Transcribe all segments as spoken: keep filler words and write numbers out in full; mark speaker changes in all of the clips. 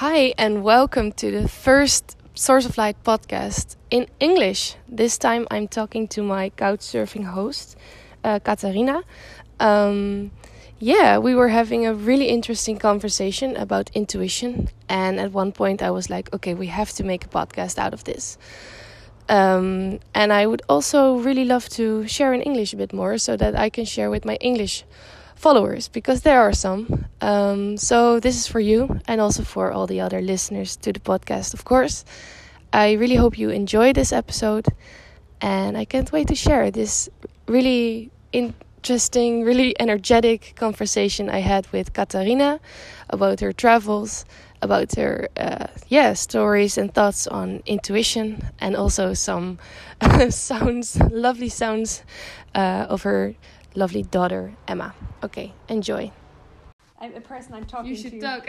Speaker 1: Hi, and welcome to the first Source of Light podcast in English. This time I'm talking to my couchsurfing host, uh, Katarina. Um, yeah, we were having a really interesting conversation about intuition. And at one point I was like, okay, we have to make a podcast out of this. Um, and I would also really love to share in English a bit more so that I can share with my English followers, because there are some. Um, so this is for you and also for all the other listeners to the podcast, of course. I really hope you enjoy this episode, and I can't wait to share this really interesting, really energetic conversation I had with Katarina about her travels, about her uh, yeah stories and thoughts on intuition, and also some sounds, lovely sounds uh, of her lovely daughter, Emma. Okay, enjoy.
Speaker 2: I'm a person I'm talking
Speaker 1: You should
Speaker 2: to.
Speaker 1: talk.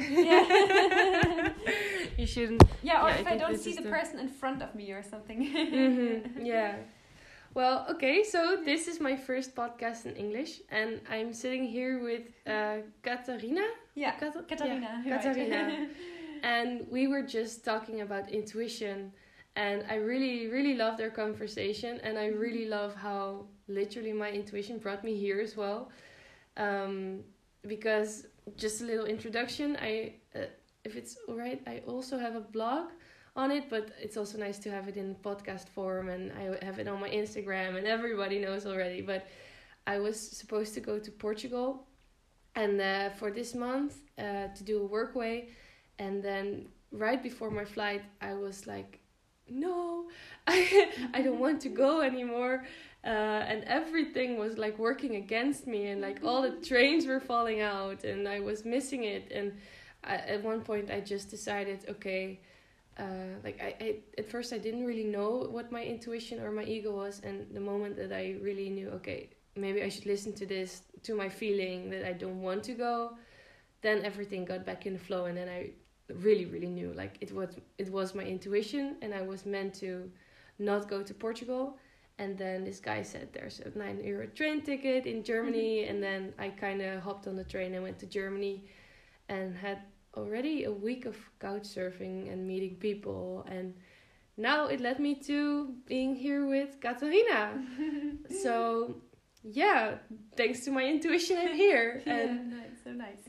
Speaker 2: Yeah.
Speaker 1: You shouldn't.
Speaker 2: Yeah, or
Speaker 1: Yeah, I
Speaker 2: if I,
Speaker 1: think
Speaker 2: don't
Speaker 1: this
Speaker 2: see
Speaker 1: is
Speaker 2: the
Speaker 1: the-
Speaker 2: person in front of me or something.
Speaker 1: Mm-hmm. Yeah. Well, okay, so this is my first podcast in English, and I'm sitting here with uh, Katarina.
Speaker 2: Yeah,
Speaker 1: Kat-
Speaker 2: Katarina.
Speaker 1: Yeah,
Speaker 2: right.
Speaker 1: Katarina. And we were just talking about intuition, and I really, really loved our conversation, and I really love how literally my intuition brought me here as well. Um, because just a little introduction, I, uh, if it's alright, I also have a blog on it, but it's also nice to have it in podcast form, and I have it on my Instagram, and everybody knows already. But I was supposed to go to Portugal, and uh, for this month uh, to do a workway, and then right before my flight, I was like, no, I I don't want to go anymore. Uh, and everything was like working against me, and like all the trains were falling out, and I was missing it. And I, at one point I just decided, okay, uh, like I, I at first I didn't really know what my intuition or my ego was, and the moment that I really knew, okay, maybe I should listen to this, to my feeling that I don't want to go, then everything got back in the flow, and then I really really knew like it was it was my intuition, and I was meant to not go to Portugal. And then this guy said there's a nine euro train ticket in Germany. And then I kind of hopped on the train and went to Germany, and had already a week of couch surfing and meeting people. And now it led me to being here with Katarina. So yeah, thanks to my intuition, I'm here.
Speaker 2: Yeah,
Speaker 1: And
Speaker 2: nice, so nice.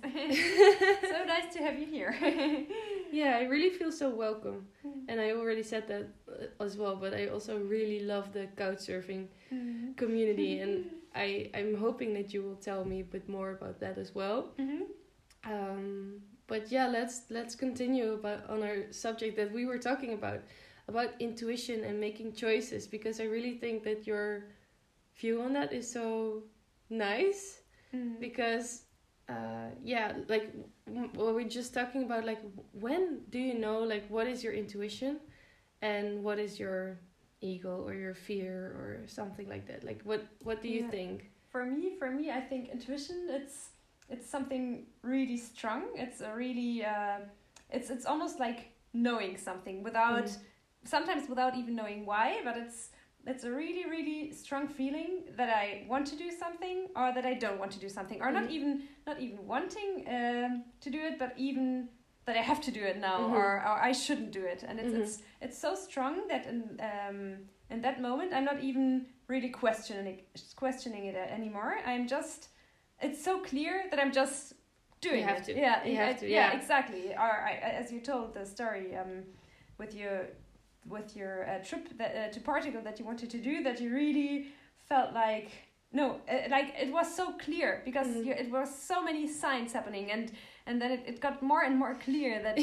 Speaker 2: So nice to have you here.
Speaker 1: yeah, I really feel so welcome. And I already said that uh, as well, but I also really love the couch surfing
Speaker 2: Mm-hmm.
Speaker 1: community, and I, I'm hoping that you will tell me a bit more about that as well.
Speaker 2: Mm-hmm.
Speaker 1: Um, but yeah, let's let's continue about on our subject that we were talking about, about intuition and making choices, because I really think that your view on that is so nice.
Speaker 2: Mm-hmm.
Speaker 1: Because uh yeah, like w- what we're just talking about, like when do you know like what is your intuition and what is your ego or your fear or something like that? Like what what do you
Speaker 2: Yeah.
Speaker 1: think?
Speaker 2: For me, for me, I think intuition. It's it's something really strong. It's a really uh, it's it's almost like knowing something without
Speaker 1: Mm.
Speaker 2: sometimes without even knowing why. But it's it's a really really strong feeling that I want to do something or that I don't want to do something, or not
Speaker 1: Mhm.
Speaker 2: even not even wanting um, to do it, but even that I have to do it now,
Speaker 1: Mhm.
Speaker 2: or, or I shouldn't do it. And it's
Speaker 1: Mhm.
Speaker 2: it's it's so strong that in um in that moment I'm not even really questioning questioning it anymore. I'm just it's so clear that I'm just doing
Speaker 1: You have
Speaker 2: it.
Speaker 1: to.
Speaker 2: Yeah,
Speaker 1: You
Speaker 2: I-
Speaker 1: have to,
Speaker 2: yeah,
Speaker 1: yeah.
Speaker 2: exactly. Or I, as you told the story um, with your with your uh, trip that, uh, to Portugal that you wanted to do, that you really felt like no, uh, like it was so clear because
Speaker 1: Mhm.
Speaker 2: you, it was so many signs happening, and and then it, it got more and more clear that uh,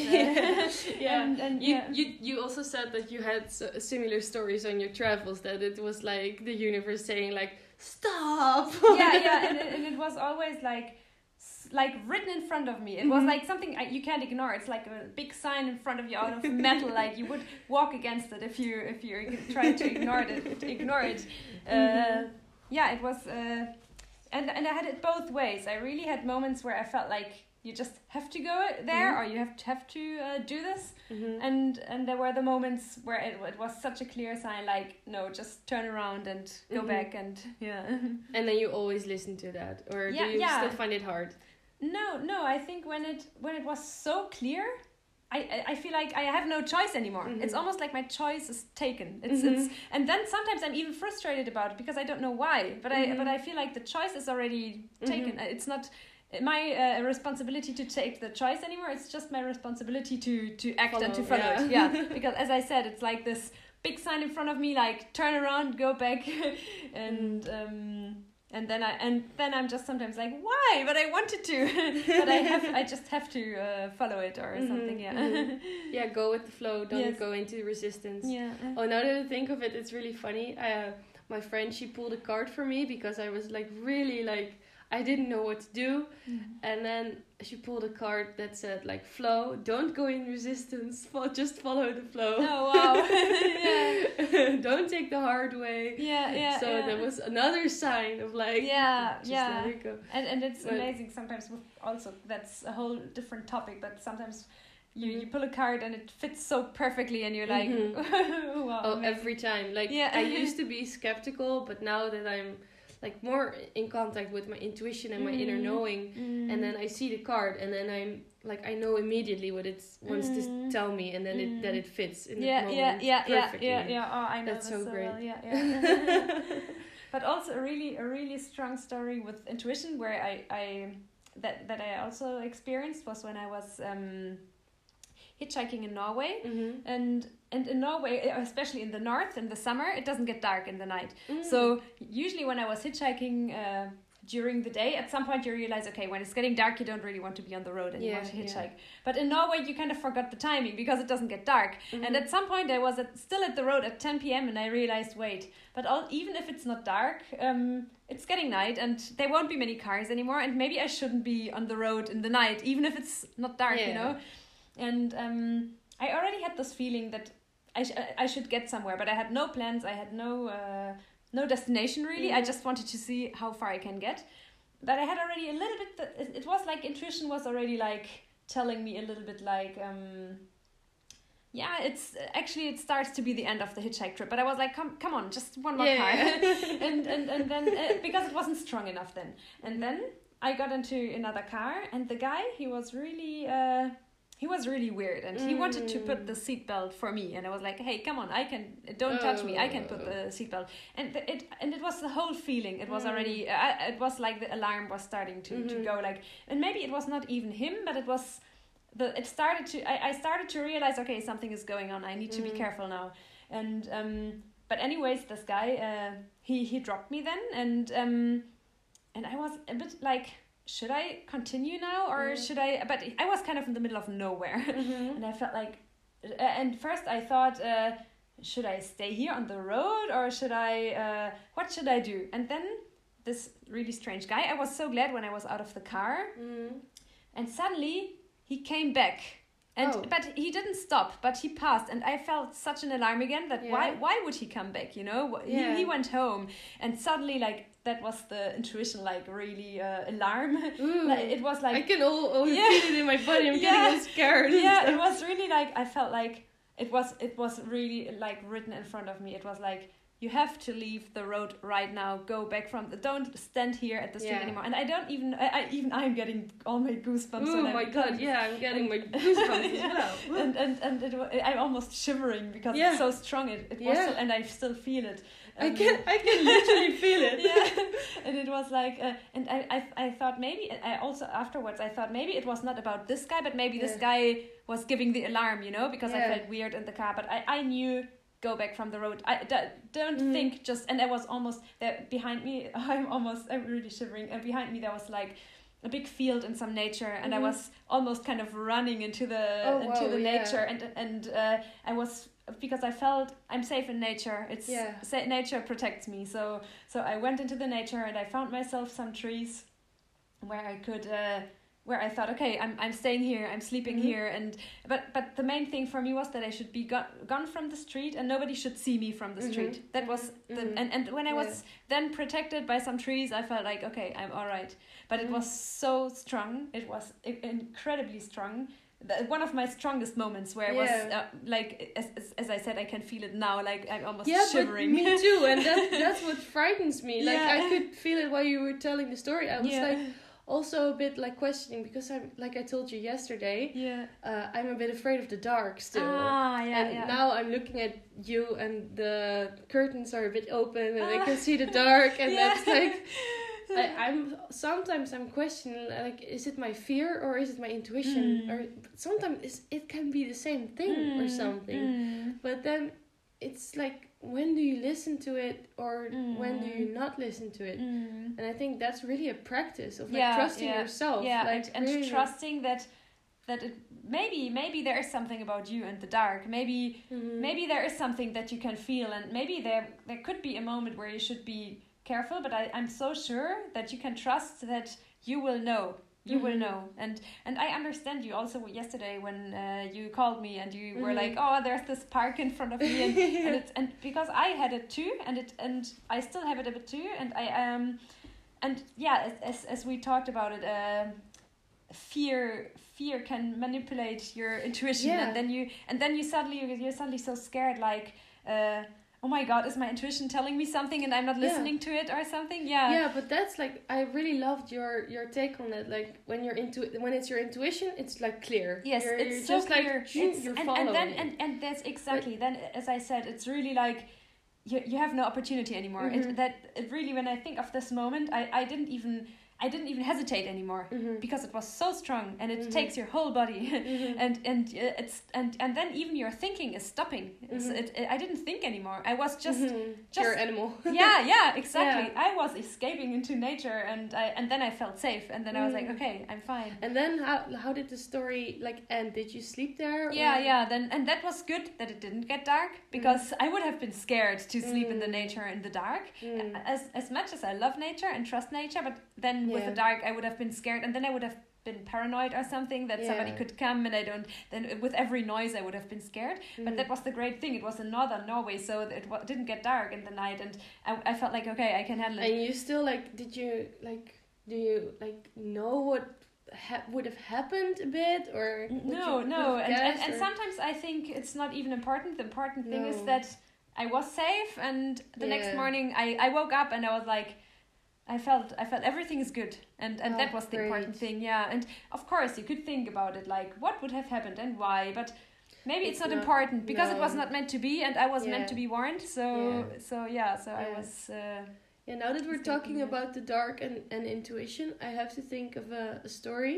Speaker 1: Yeah.
Speaker 2: and, and
Speaker 1: You,
Speaker 2: yeah.
Speaker 1: you you also said that you had s- similar stories on your travels, that it was like the universe saying like stop.
Speaker 2: yeah, yeah, and it, and it was always like, s- like written in front of me. It was
Speaker 1: Mhm.
Speaker 2: like something I, you can't ignore. It's like a big sign in front of you out of metal. Like you would walk against it if you if you tried to ignore it. Ignore it. Uh,
Speaker 1: Mhm.
Speaker 2: yeah, it was, uh, and and I had it both ways. I really had moments where I felt like you just have to go there,
Speaker 1: Mhm.
Speaker 2: or you have to have to uh, do this.
Speaker 1: Mhm.
Speaker 2: And and there were the moments where it, it was such a clear sign, like no, just turn around and go
Speaker 1: Mhm.
Speaker 2: back, and yeah.
Speaker 1: And then you always listen to that, or
Speaker 2: Yeah,
Speaker 1: do you
Speaker 2: yeah.
Speaker 1: still find it hard?
Speaker 2: No, no. I think when it when it was so clear, I, I I feel like I have no choice anymore.
Speaker 1: Mhm.
Speaker 2: It's almost like my choice is taken. It's
Speaker 1: Mhm.
Speaker 2: it's and then sometimes I'm even frustrated about it because I don't know why. But I
Speaker 1: Mhm.
Speaker 2: but I feel like the choice is already taken.
Speaker 1: Mhm.
Speaker 2: It's not my uh, responsibility to take the choice anymore. It's just my responsibility to to act
Speaker 1: Follow,
Speaker 2: and to follow
Speaker 1: yeah.
Speaker 2: it. Yeah, because as I said, it's like this big sign in front of me, like turn around, go back, and um, and then I and then I'm just sometimes like, why? But I wanted to, but I have I just have to uh, follow it or
Speaker 1: Mhm,
Speaker 2: something. Yeah.
Speaker 1: mhm. Yeah, go with the flow. Don't
Speaker 2: Yes.
Speaker 1: go into resistance.
Speaker 2: Yeah.
Speaker 1: Oh, now that I think of it, it's really funny. I, uh, my friend, she pulled a card for me because I was like really like I didn't know what to do,
Speaker 2: Mm.
Speaker 1: and then she pulled a card that said like flow. Don't go in resistance. Fo- just follow the flow.
Speaker 2: Oh wow. Yeah.
Speaker 1: Don't take the hard way.
Speaker 2: Yeah. Yeah.
Speaker 1: so
Speaker 2: yeah.
Speaker 1: there was another sign of like
Speaker 2: Yeah.
Speaker 1: just
Speaker 2: Yeah.
Speaker 1: let it go.
Speaker 2: And and it's
Speaker 1: But-
Speaker 2: amazing sometimes with also that's a whole different topic, but sometimes you,
Speaker 1: Mhm.
Speaker 2: you pull a card and it fits so perfectly and you're like
Speaker 1: Mhm.
Speaker 2: wow.
Speaker 1: Oh,
Speaker 2: amazing.
Speaker 1: every time. Like
Speaker 2: Yeah.
Speaker 1: I used to be skeptical, but now that I'm like more in contact with my intuition and my inner
Speaker 2: Mm.
Speaker 1: knowing,
Speaker 2: Mm.
Speaker 1: and then I see the card, and then I'm like I know immediately what it wants
Speaker 2: Mm.
Speaker 1: to tell me, and then it that
Speaker 2: Mm.
Speaker 1: it fits in
Speaker 2: yeah,
Speaker 1: the moment
Speaker 2: yeah, yeah, yeah,
Speaker 1: perfectly.
Speaker 2: yeah, yeah. Oh, I know
Speaker 1: That's
Speaker 2: this
Speaker 1: so
Speaker 2: so
Speaker 1: great.
Speaker 2: well. Yeah, yeah. But also a really, a really strong story with intuition where I, I that that I also experienced was when I was um, hitchhiking in Norway,
Speaker 1: Mhm.
Speaker 2: and and in Norway, especially in the north, in the summer, it doesn't get dark in the night.
Speaker 1: Mm.
Speaker 2: So usually when I was hitchhiking uh, during the day, at some point you realize, okay, when it's getting dark, you don't really want to be on the road anymore
Speaker 1: Yeah,
Speaker 2: to
Speaker 1: yeah.
Speaker 2: hitchhike. But in Norway, you kind of forgot the timing because it doesn't get dark.
Speaker 1: Mhm.
Speaker 2: And at some point, I was at, still at the road at ten p.m. and I realized, wait, but all, even if it's not dark, um, it's getting night and there won't be many cars anymore. And maybe I shouldn't be on the road in the night, even if it's not dark, you
Speaker 1: Yeah.
Speaker 2: know? And um, I already had this feeling that I, sh- I should get somewhere, but I had no plans. I had no uh, no destination really. I
Speaker 1: Mhm.
Speaker 2: just wanted to see how far I can get. But I had already a little bit. That it, it was like intuition was already like telling me a little bit like, um, yeah, it's actually it starts to be the end of the hitchhike trip. But I was like, come come on, just one more
Speaker 1: Yeah.
Speaker 2: car, and and and then uh, because it wasn't strong enough then, and then I got into another car, and the guy he was really. Uh, He was really weird, and he wanted to put the seatbelt for me, and I was like, "Hey, come on, I can. Don't touch me. I can put the seatbelt." And the, it and it was the whole feeling. It was
Speaker 1: Mm.
Speaker 2: already. Uh, it was like the alarm was starting to,
Speaker 1: Mhm.
Speaker 2: to go like, and maybe it was not even him, but it was the. It started to. I, I started to realize, okay, something is going on. I need to
Speaker 1: Mm.
Speaker 2: be careful now, and um. But anyways, this guy, uh, he he dropped me then, and um, and I was a bit like. Should I continue now or
Speaker 1: Mm.
Speaker 2: should I? But I was kind of in the middle of nowhere,
Speaker 1: Mhm.
Speaker 2: and I felt like, uh, and first I thought, uh, should I stay here on the road or should I? Uh, what should I do? And then this really strange guy. I was so glad when I was out of the car,
Speaker 1: Mhm.
Speaker 2: and suddenly he came back. And
Speaker 1: Oh.
Speaker 2: but he didn't stop, but he passed, and I felt such an alarm again that
Speaker 1: Yeah.
Speaker 2: why why would he come back? You know, Wh-
Speaker 1: Yeah.
Speaker 2: he he went home, and suddenly like that was the intuition, like really uh, alarm.
Speaker 1: Ooh.
Speaker 2: Like, it was like
Speaker 1: I can all, all
Speaker 2: Yeah.
Speaker 1: feel it in my body. I'm
Speaker 2: Yeah.
Speaker 1: getting all scared. and
Speaker 2: yeah,
Speaker 1: stuff.
Speaker 2: it was really like I felt like it was it was really like written in front of me. It was like you have to leave the road right now. Go back from the don't stand here at the street
Speaker 1: Yeah.
Speaker 2: anymore. And I don't even I, I even I'm getting all my goosebumps.
Speaker 1: Oh
Speaker 2: when I'm
Speaker 1: my god,
Speaker 2: telling
Speaker 1: yeah, I'm getting my goosebumps
Speaker 2: Yeah.
Speaker 1: as well.
Speaker 2: and and and it, wa- I'm almost shivering because
Speaker 1: Yeah.
Speaker 2: it's so strong. It, it was
Speaker 1: Yeah.
Speaker 2: so, and I still feel it.
Speaker 1: I
Speaker 2: Um,
Speaker 1: can I can literally feel it.
Speaker 2: yeah, and it was like, uh, and I, I I thought maybe I also afterwards I thought maybe it was not about this guy, but maybe this
Speaker 1: Yeah.
Speaker 2: guy was giving the alarm, you know, because I
Speaker 1: Yeah.
Speaker 2: felt weird in the car. But I I knew go back from the road. I d- don't
Speaker 1: Mhm.
Speaker 2: think just, and I was almost there behind me. I'm almost I'm really shivering. And behind me there was like a big field and some nature, and
Speaker 1: Mhm.
Speaker 2: I was almost kind of running into the
Speaker 1: Oh,
Speaker 2: into
Speaker 1: wow,
Speaker 2: the
Speaker 1: yeah.
Speaker 2: nature, and and uh, I was because I felt I'm safe in nature. It's
Speaker 1: Yeah.
Speaker 2: sa- nature protects me. So so I went into the nature and I found myself some trees where I could uh, where I thought, okay, I'm I'm staying here, I'm sleeping
Speaker 1: Mhm.
Speaker 2: here, and but but the main thing for me was that I should be gone gone from the street and nobody should see me from the
Speaker 1: Mhm.
Speaker 2: street. That was the
Speaker 1: Mhm.
Speaker 2: and and when I was
Speaker 1: Yeah.
Speaker 2: then protected by some trees, I felt like, okay, I'm all right. But it
Speaker 1: Mhm.
Speaker 2: was so strong. It was i- incredibly strong. The- One of my strongest moments where I was
Speaker 1: Yeah.
Speaker 2: uh, like, as, as as I said, I can feel it now. Like I'm almost
Speaker 1: Yeah,
Speaker 2: shivering.
Speaker 1: but me too, and that, that's what frightens me. Like
Speaker 2: Yeah.
Speaker 1: I could feel it while you were telling the story. I was
Speaker 2: Yeah.
Speaker 1: like, also a bit like questioning, because I'm like I told you yesterday,
Speaker 2: Yeah.
Speaker 1: uh, I'm a bit afraid of the dark still.
Speaker 2: Ah, yeah,
Speaker 1: and
Speaker 2: yeah.
Speaker 1: now I'm looking at you, and the curtains are a bit open, and I
Speaker 2: Ah.
Speaker 1: can see the dark, and
Speaker 2: Yeah.
Speaker 1: that's like I, I'm sometimes I'm questioning, like, is it my fear or is it my intuition?
Speaker 2: Mm.
Speaker 1: Or sometimes it's, it can be the same thing or
Speaker 2: Mm,
Speaker 1: something.
Speaker 2: mm,
Speaker 1: But then it's like, when do you listen to it, or when do you
Speaker 2: Mm.
Speaker 1: not listen to it?
Speaker 2: mm.
Speaker 1: And I think that's really a practice of like
Speaker 2: Yeah,
Speaker 1: trusting
Speaker 2: yeah,
Speaker 1: yourself.
Speaker 2: Yeah,
Speaker 1: like,
Speaker 2: and, and
Speaker 1: really.
Speaker 2: trusting that that it maybe maybe there is something about you and the dark. Maybe
Speaker 1: Mhm.
Speaker 2: maybe there is something that you can feel, and maybe there there could be a moment where you should be careful. But I, I'm so sure that you can trust that you will know. You will
Speaker 1: Mhm.
Speaker 2: know, and and I understand you also yesterday when uh, you called me and you were
Speaker 1: Mhm.
Speaker 2: like, oh, there's this park in front of me, and and, it's, and because I had it too, and it and I still have it a bit too, and I um and yeah, as as, as we talked about it, uh, fear fear can manipulate your intuition,
Speaker 1: Yeah.
Speaker 2: and then you and then you suddenly you're suddenly so scared, like. Uh, oh my god, is my intuition telling me something and I'm not
Speaker 1: Yeah.
Speaker 2: listening to it or something? Yeah.
Speaker 1: Yeah, but that's like, I really loved your your take on it. Like, when you're into when it's your intuition, it's like clear.
Speaker 2: Yes,
Speaker 1: you're,
Speaker 2: it's
Speaker 1: you're
Speaker 2: so
Speaker 1: just
Speaker 2: clear.
Speaker 1: like shoo,
Speaker 2: It's,
Speaker 1: you're
Speaker 2: and,
Speaker 1: following
Speaker 2: and then
Speaker 1: it.
Speaker 2: and, and that's exactly then, as I said, it's really like you you have no opportunity anymore.
Speaker 1: Mhm.
Speaker 2: It, that it really, when I think of this moment, I, I didn't even I didn't even hesitate anymore,
Speaker 1: Mhm.
Speaker 2: because it was so strong, and it
Speaker 1: Mhm.
Speaker 2: takes your whole body.
Speaker 1: Mhm.
Speaker 2: and and uh, it's and and then even your thinking is stopping. It's,
Speaker 1: Mhm.
Speaker 2: it, it, I didn't think anymore. I was just
Speaker 1: Mhm.
Speaker 2: just-
Speaker 1: You're an animal.
Speaker 2: yeah, yeah, exactly. I was escaping into nature, and I and then I felt safe, and then I was like,
Speaker 1: Mm.
Speaker 2: okay, I'm fine.
Speaker 1: And then how how did the story like end? Did you sleep there?
Speaker 2: Yeah,
Speaker 1: or?
Speaker 2: yeah. Then and that was good that it didn't get dark, because I would have been scared to sleep in the
Speaker 1: Mm.
Speaker 2: nature in the dark.
Speaker 1: Mm.
Speaker 2: As as much as I love nature and trust nature, but then with
Speaker 1: Yeah.
Speaker 2: the dark I would have been scared, and then I would have been paranoid or something that somebody
Speaker 1: Yeah.
Speaker 2: could come, and I don't. Then with every noise I would have been scared. But
Speaker 1: Mhm.
Speaker 2: that was the great thing. It was in northern Norway, so it wa- didn't get dark in the night, and I, I felt like, okay, I can handle it.
Speaker 1: And you still like? Did you like? Do you like know what ha- would have happened a bit, or would
Speaker 2: No,
Speaker 1: you- would
Speaker 2: no,
Speaker 1: have
Speaker 2: and, and,
Speaker 1: guessed,
Speaker 2: and
Speaker 1: or-
Speaker 2: sometimes I think it's not even important. The important thing is
Speaker 1: No.
Speaker 2: that I was safe, and the next
Speaker 1: Yeah.
Speaker 2: morning I, I woke up and I was like, I felt I felt everything is good, and and
Speaker 1: Oh,
Speaker 2: that was the important
Speaker 1: great.
Speaker 2: thing. Yeah, and of course you could think about it, like what would have happened and why, but maybe it's,
Speaker 1: It's
Speaker 2: not,
Speaker 1: not-
Speaker 2: important because it was
Speaker 1: no.
Speaker 2: not meant to be, and I was
Speaker 1: Yeah.
Speaker 2: meant to be warned. So
Speaker 1: Yeah.
Speaker 2: so yeah, so I
Speaker 1: Yeah.
Speaker 2: was. Uh,
Speaker 1: Yeah, now that we're
Speaker 2: Thinking
Speaker 1: talking
Speaker 2: of-
Speaker 1: about the dark and, and intuition, I have to think of a, a story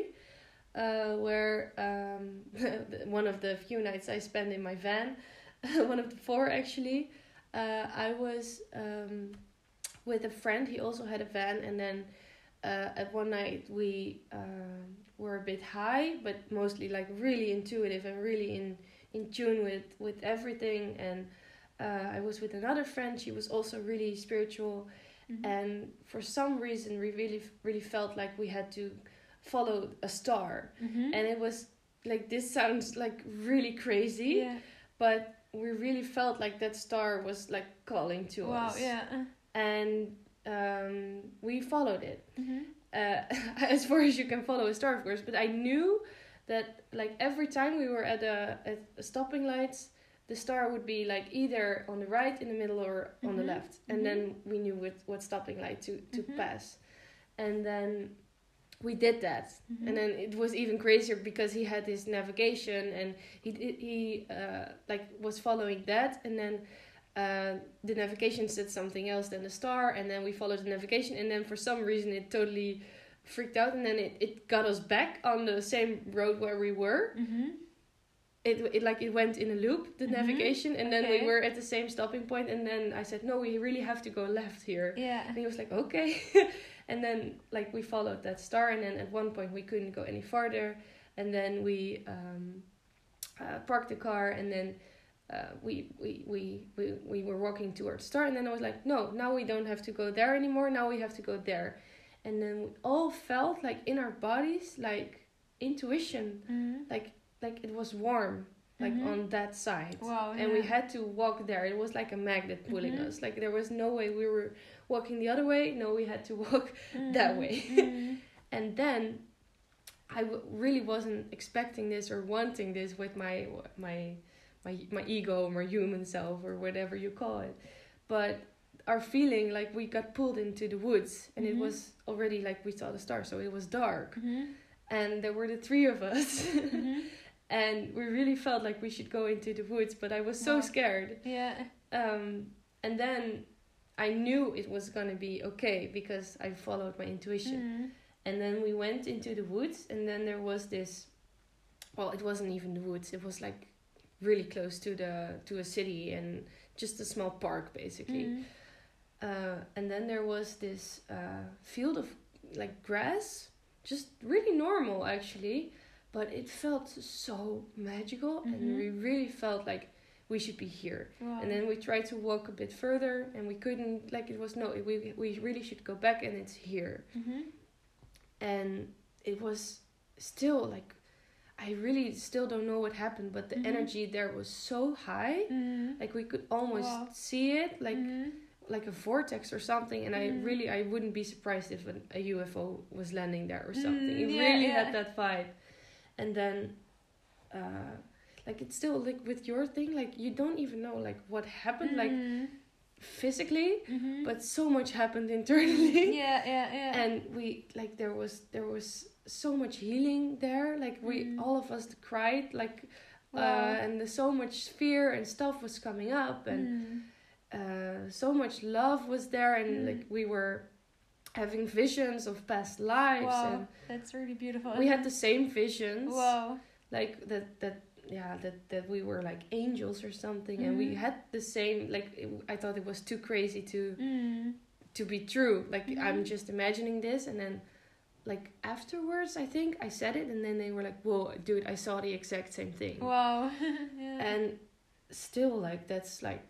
Speaker 1: uh, where um, one of the few nights I spent in my van, one of the four actually, uh, I was um, with a friend. He also had a van, and then uh, at one night we um were a bit high, but mostly like really intuitive and really in, in tune with, with everything. And uh, I was with another friend. She was also really spiritual.
Speaker 2: mhm.
Speaker 1: And for some reason we really really felt like we had to follow a star,
Speaker 2: Mhm.
Speaker 1: and it was like, this sounds like really crazy,
Speaker 2: yeah.
Speaker 1: but we really felt like that star was like calling to
Speaker 2: Wow.
Speaker 1: us.
Speaker 2: Yeah.
Speaker 1: And um, we followed it,
Speaker 2: Mhm.
Speaker 1: uh, as far as you can follow a star, of course. But I knew that like every time we were at a at a stopping lights, the star would be like either on the right, in the middle, or on the
Speaker 2: Mhm.
Speaker 1: left, and
Speaker 2: Mhm.
Speaker 1: then we knew what, what stopping light to, to
Speaker 2: Mhm.
Speaker 1: pass. And then we did that,
Speaker 2: Mhm.
Speaker 1: and then it was even crazier because he had his navigation, and he he, he uh, like was following that, and then uh, the navigation said something else than the star, and then we followed the navigation, and then for some reason it totally freaked out, and then it, it got us back on the same road where we were.
Speaker 2: Mhm.
Speaker 1: It, it like it went in a loop, the
Speaker 2: Mhm.
Speaker 1: navigation, and then
Speaker 2: Okay.
Speaker 1: we were at the same stopping point, and then I said, no, we really have to go left here.
Speaker 2: Yeah.
Speaker 1: And he was like, okay. And then like we followed that star, and then at one point we couldn't go any farther, and then we um, uh, parked the car, and then uh, we, we, we, we, we were walking towards the star, and then I was like, no, now we don't have to go there anymore, now we have to go there. And then we all felt like in our bodies, like intuition,
Speaker 2: Mhm.
Speaker 1: like like it was warm, like
Speaker 2: Mhm.
Speaker 1: on that side.
Speaker 2: Wow.
Speaker 1: And we
Speaker 2: yeah.
Speaker 1: had to walk there. It was like a magnet pulling
Speaker 2: Mhm.
Speaker 1: us. Like there was no way we were walking the other way. No, we had to walk that
Speaker 2: Mhm.
Speaker 1: way.
Speaker 2: Mhm.
Speaker 1: And then I w- really wasn't expecting this or wanting this with my my my my ego, my human self, or whatever you call it. But our feeling like we got pulled into the woods, and
Speaker 2: Mhm.
Speaker 1: it was already like we saw the stars, so it was dark,
Speaker 2: Mhm.
Speaker 1: and there were the three of us.
Speaker 2: Mhm.
Speaker 1: And we really felt like we should go into the woods, but I was so
Speaker 2: Wow.
Speaker 1: scared.
Speaker 2: Yeah.
Speaker 1: Um, and then I knew it was gonna be okay because I followed my intuition.
Speaker 2: Mhm.
Speaker 1: And then we went into the woods, and then there was this. Well, it wasn't even the woods. It was like really close to the to a city and just a small park, basically.
Speaker 2: Mhm.
Speaker 1: Uh, and then there was this uh, field of like grass, just really normal actually, but it felt so magical,
Speaker 2: Mhm.
Speaker 1: and we really felt like we should be here.
Speaker 2: Wow.
Speaker 1: And then we tried to walk a bit further, and we couldn't. Like it was no, we we really should go back, and it's here.
Speaker 2: Mhm.
Speaker 1: And it was still like, I really still don't know what happened, but the
Speaker 2: Mhm.
Speaker 1: energy there was so high,
Speaker 2: Mhm.
Speaker 1: like we could almost
Speaker 2: Wow.
Speaker 1: see it, like.
Speaker 2: Mhm.
Speaker 1: like a vortex or something, and
Speaker 2: Mm.
Speaker 1: I really I wouldn't be surprised if an, a U F O was landing there or something.
Speaker 2: Mm,
Speaker 1: It
Speaker 2: yeah,
Speaker 1: really
Speaker 2: yeah.
Speaker 1: had that vibe. And then uh like it's still like with your thing, like you don't even know like what happened like
Speaker 2: Mhm.
Speaker 1: physically,
Speaker 2: Mhm.
Speaker 1: but so much happened internally.
Speaker 2: yeah, yeah, yeah.
Speaker 1: And we like there was there was so much healing there, like we
Speaker 2: Mm.
Speaker 1: all of us cried, like
Speaker 2: Wow.
Speaker 1: uh and there's so much fear and stuff was coming up, and
Speaker 2: Mm.
Speaker 1: uh, so much love was there, and
Speaker 2: Mm.
Speaker 1: like we were having visions of past lives,
Speaker 2: Wow,
Speaker 1: and
Speaker 2: that's really beautiful.
Speaker 1: we had the same visions,
Speaker 2: Wow.
Speaker 1: like that that yeah that that we were like angels or something, and we
Speaker 2: Mhm.
Speaker 1: had the same like it, I thought it was too crazy to
Speaker 2: Mm.
Speaker 1: to be true, like
Speaker 2: Mhm.
Speaker 1: I'm just imagining this, and then like afterwards I think I said it, and then they were like, whoa dude, I saw the exact same thing.
Speaker 2: Wow. yeah.
Speaker 1: And still like that's like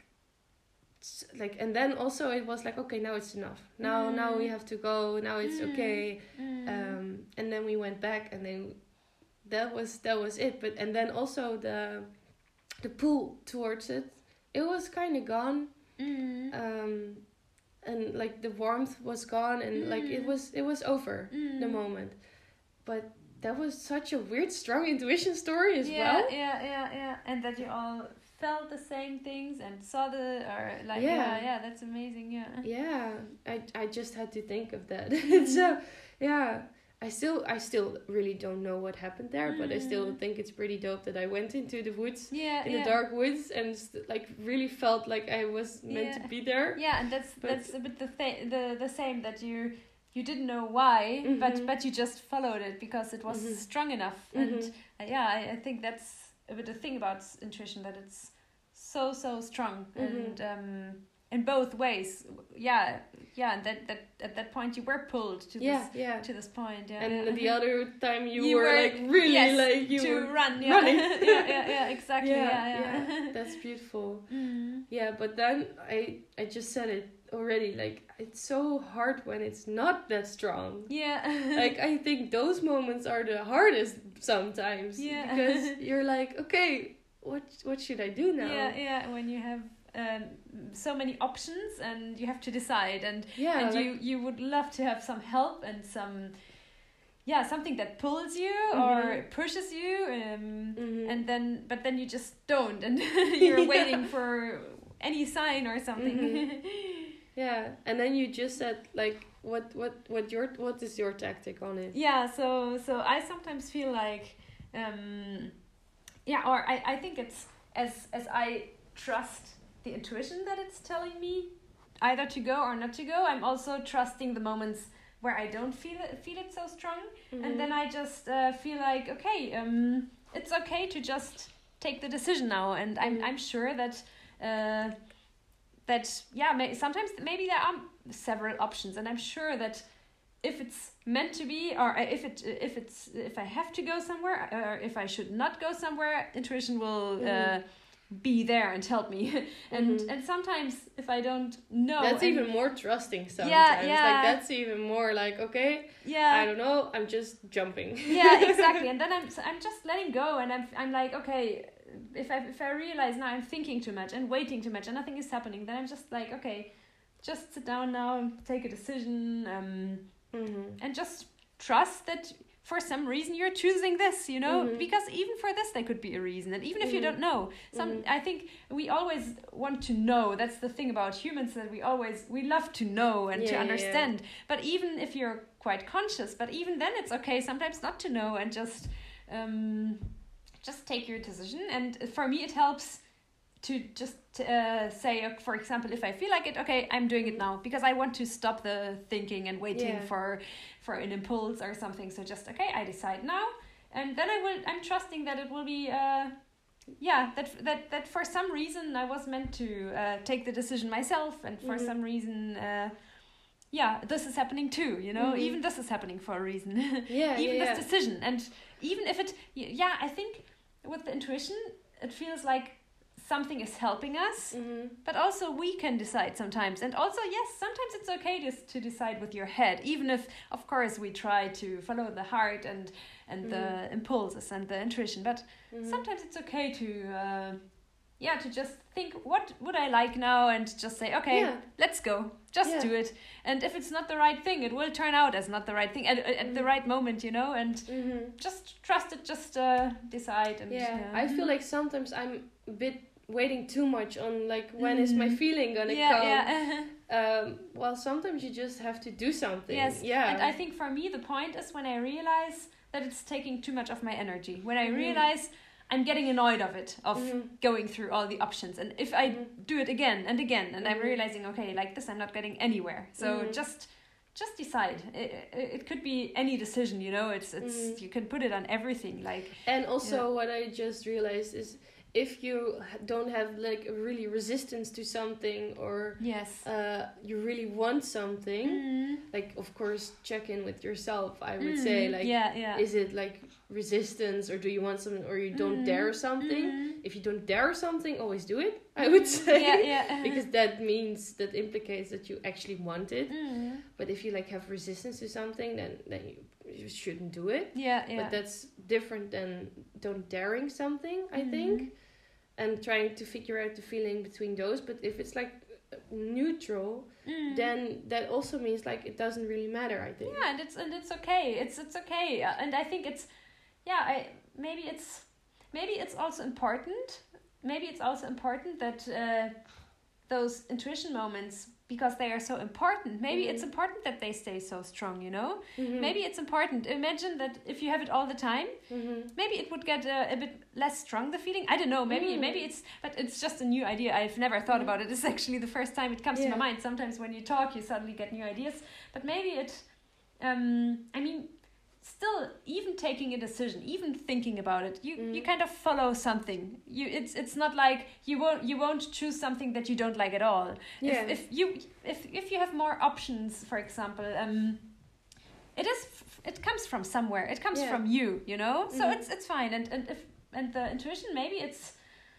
Speaker 1: s- like and then also it was like, okay, now it's enough, now
Speaker 2: Mm.
Speaker 1: now we have to go, now it's
Speaker 2: Mm.
Speaker 1: okay.
Speaker 2: Mm.
Speaker 1: Um and then we went back, and then that was that was it. But and then also the the pull towards it, it was kind of gone.
Speaker 2: Mm.
Speaker 1: Um and like the warmth was gone, and like it
Speaker 2: Mm.
Speaker 1: was it was over
Speaker 2: Mm.
Speaker 1: the moment. But that was such a weird strong intuition story as
Speaker 2: yeah,
Speaker 1: well.
Speaker 2: Yeah, yeah, yeah. And that you all felt the same things and saw the or like
Speaker 1: Yeah.
Speaker 2: yeah, yeah, that's amazing, yeah.
Speaker 1: Yeah, I I just had to think of that.
Speaker 2: Mm.
Speaker 1: So yeah, I still I still really don't know what happened there, but I still
Speaker 2: Mm.
Speaker 1: think it's pretty dope that I went into the woods,
Speaker 2: Yeah,
Speaker 1: in
Speaker 2: yeah.
Speaker 1: the dark woods, and st- like really felt like I was meant
Speaker 2: Yeah.
Speaker 1: to be there.
Speaker 2: Yeah, and that's
Speaker 1: But-
Speaker 2: that's a bit the th- the the same that you you didn't know why, but
Speaker 1: Mhm.
Speaker 2: but you just followed it because it was
Speaker 1: Mhm.
Speaker 2: strong enough. And
Speaker 1: Mhm.
Speaker 2: uh, yeah, I, I think that's a bit the thing about s- intuition, that it's so so strong
Speaker 1: Mhm.
Speaker 2: and um in both ways. Yeah, yeah. And that that at that point you were pulled to
Speaker 1: Yeah,
Speaker 2: this
Speaker 1: yeah.
Speaker 2: to this point. Yeah,
Speaker 1: And
Speaker 2: yeah.
Speaker 1: the other time you,
Speaker 2: You
Speaker 1: were,
Speaker 2: were-
Speaker 1: like really
Speaker 2: yes,
Speaker 1: like you
Speaker 2: to
Speaker 1: were
Speaker 2: run. Yeah,
Speaker 1: running.
Speaker 2: yeah, yeah, yeah. Exactly.
Speaker 1: Yeah,
Speaker 2: Yeah, yeah.
Speaker 1: That's beautiful.
Speaker 2: Mm.
Speaker 1: Yeah, but then I I just said it already. Like it's so hard when it's not that strong.
Speaker 2: Yeah.
Speaker 1: Like I think those moments are the hardest sometimes.
Speaker 2: Yeah.
Speaker 1: Because you're like, okay, what what should I do now?
Speaker 2: Yeah, yeah. When you have um, so many options and you have to decide, and
Speaker 1: Yeah,
Speaker 2: and
Speaker 1: like-
Speaker 2: you you would love to have some help and some, yeah, something that pulls you
Speaker 1: Mhm.
Speaker 2: or pushes you, um,
Speaker 1: Mhm.
Speaker 2: and then but then you just don't, and you're
Speaker 1: Yeah.
Speaker 2: waiting for any sign or something.
Speaker 1: Mhm. Yeah, and then you just said like, what what what your what is your tactic on it?
Speaker 2: Yeah, so so I sometimes feel like, um, yeah, or I, I think it's as as I trust the intuition that it's telling me either to go or not to go, I'm also trusting the moments where I don't feel it, feel it so strong,
Speaker 1: Mhm.
Speaker 2: and then I just uh, feel like, okay, um, it's okay to just take the decision now, and I'm
Speaker 1: Mhm.
Speaker 2: I'm sure that. Uh, that yeah may, sometimes maybe there are several options, and I'm sure that if it's meant to be, or if it if it's if I have to go somewhere, or if I should not go somewhere, intuition will uh,
Speaker 1: Mhm.
Speaker 2: be there and help me. and
Speaker 1: Mhm.
Speaker 2: and sometimes if I don't know,
Speaker 1: That's
Speaker 2: and-
Speaker 1: even more trusting sometimes.
Speaker 2: Yeah, yeah.
Speaker 1: Like that's even more like, okay,
Speaker 2: yeah
Speaker 1: I don't know, I'm just jumping.
Speaker 2: yeah, exactly. And then I'm I'm just letting go, and I'm I'm like, okay, if I if I realize now I'm thinking too much and waiting too much and nothing is happening, then I'm just like, okay, just sit down now and take a decision, um,
Speaker 1: Mhm.
Speaker 2: and just trust that for some reason you're choosing this, you know,
Speaker 1: Mm-hmm.
Speaker 2: because even for this there could be a reason, and even if you
Speaker 1: Mhm.
Speaker 2: don't know, some
Speaker 1: Mhm.
Speaker 2: I think we always want to know. That's the thing about humans, that we always we love to know and
Speaker 1: Yeah,
Speaker 2: to
Speaker 1: yeah,
Speaker 2: understand. But even if you're quite conscious, but even then it's okay sometimes not to know, and just um just take your decision. And for me it helps to just uh, say, uh, for example, if I feel like it, okay, I'm doing it now because I want to stop the thinking and waiting
Speaker 1: Yeah.
Speaker 2: for for an impulse or something. So just, okay, I decide now, and then I will. I'm trusting that it will be, uh, yeah, that that that for some reason I was meant to uh, take the decision myself, and for
Speaker 1: Mhm.
Speaker 2: some reason, uh, yeah, this is happening too. You know,
Speaker 1: Mhm.
Speaker 2: even this is happening for a reason.
Speaker 1: Yeah,
Speaker 2: even
Speaker 1: yeah,
Speaker 2: this
Speaker 1: yeah.
Speaker 2: decision, and even if it, yeah, I think with the intuition, it feels like something is helping us,
Speaker 1: Mhm.
Speaker 2: but also we can decide sometimes. And also, yes, sometimes it's okay just to decide with your head, even if, of course, we try to follow the heart and and the impulses and the intuition. But
Speaker 1: Mhm.
Speaker 2: sometimes it's okay to, uh, yeah, to just think, what would I like now, and just say, okay,
Speaker 1: Yeah.
Speaker 2: let's go, just
Speaker 1: Yeah.
Speaker 2: do it. And if it's not the right thing, it will turn out as not the right thing at, at the
Speaker 1: Mhm.
Speaker 2: right moment, you know. And
Speaker 1: Mhm.
Speaker 2: just trust it, just uh, decide. And
Speaker 1: Yeah, I feel like sometimes I'm a bit waiting too much on like when is my
Speaker 2: Mhm.
Speaker 1: feeling gonna
Speaker 2: yeah,
Speaker 1: come.
Speaker 2: yeah.
Speaker 1: Um, well, sometimes you just have to do something.
Speaker 2: Yes,
Speaker 1: Yeah.
Speaker 2: and I think for me the point is when I realize that it's taking too much of my energy. When I
Speaker 1: Mhm.
Speaker 2: realize I'm getting annoyed of it, of
Speaker 1: Mhm.
Speaker 2: going through all the options. And if I
Speaker 1: Mhm.
Speaker 2: do it again and again, and I'm
Speaker 1: Mhm.
Speaker 2: realizing, okay, like this I'm not getting anywhere. So
Speaker 1: Mhm.
Speaker 2: just just decide. It, it, it could be any decision, you know. It's it's
Speaker 1: Mhm.
Speaker 2: you can put it on everything. Like
Speaker 1: And also,
Speaker 2: Yeah.
Speaker 1: what I just realized is if you h- don't have like a really resistance to something, or
Speaker 2: yes.
Speaker 1: uh, you really want something,
Speaker 2: Mm.
Speaker 1: like of course check in with yourself. I would
Speaker 2: Mm.
Speaker 1: say like,
Speaker 2: yeah, yeah.
Speaker 1: is it like resistance, or do you want something, or you don't
Speaker 2: Mm.
Speaker 1: dare something?
Speaker 2: Mm.
Speaker 1: If you don't dare something, always do it. I would
Speaker 2: Mm.
Speaker 1: say.
Speaker 2: Yeah, yeah.
Speaker 1: Because that means that implicates that you actually want it.
Speaker 2: Mm.
Speaker 1: But if you like have resistance to something, then then you, you shouldn't do it.
Speaker 2: Yeah, yeah.
Speaker 1: But that's different than don't daring something, I
Speaker 2: Mhm.
Speaker 1: think, and trying to figure out the feeling between those. But if it's like neutral,
Speaker 2: Mm.
Speaker 1: then that also means like it doesn't really matter, I think.
Speaker 2: Yeah, and it's and it's okay. It's it's okay, uh, and I think it's, yeah. I maybe it's maybe it's also important. Maybe it's also important that uh, those intuition moments, because they are so important. Maybe it's
Speaker 1: Mhm.
Speaker 2: important that they stay so strong. You know.
Speaker 1: Mhm.
Speaker 2: Maybe it's important. Imagine that if you have it all the time,
Speaker 1: Mhm.
Speaker 2: maybe it would get uh, a bit less strong, the feeling. I don't know. Maybe
Speaker 1: Mm.
Speaker 2: maybe it's, but it's just a new idea. I've never thought
Speaker 1: Mm.
Speaker 2: about it. It's actually the first time it comes
Speaker 1: Yeah.
Speaker 2: to my mind. Sometimes when you talk, you suddenly get new ideas. But maybe it. Um, I mean, still, even taking a decision, even thinking about it, you,
Speaker 1: Mm.
Speaker 2: you kind of follow something. You it's it's not like you won't you won't choose something that you don't like at all.
Speaker 1: Yeah.
Speaker 2: If if you if if you have more options, for example, um, it is f- it comes from somewhere. It comes
Speaker 1: Yeah.
Speaker 2: from you, you know. So
Speaker 1: Mhm.
Speaker 2: it's it's fine. And and if and the intuition, maybe it's.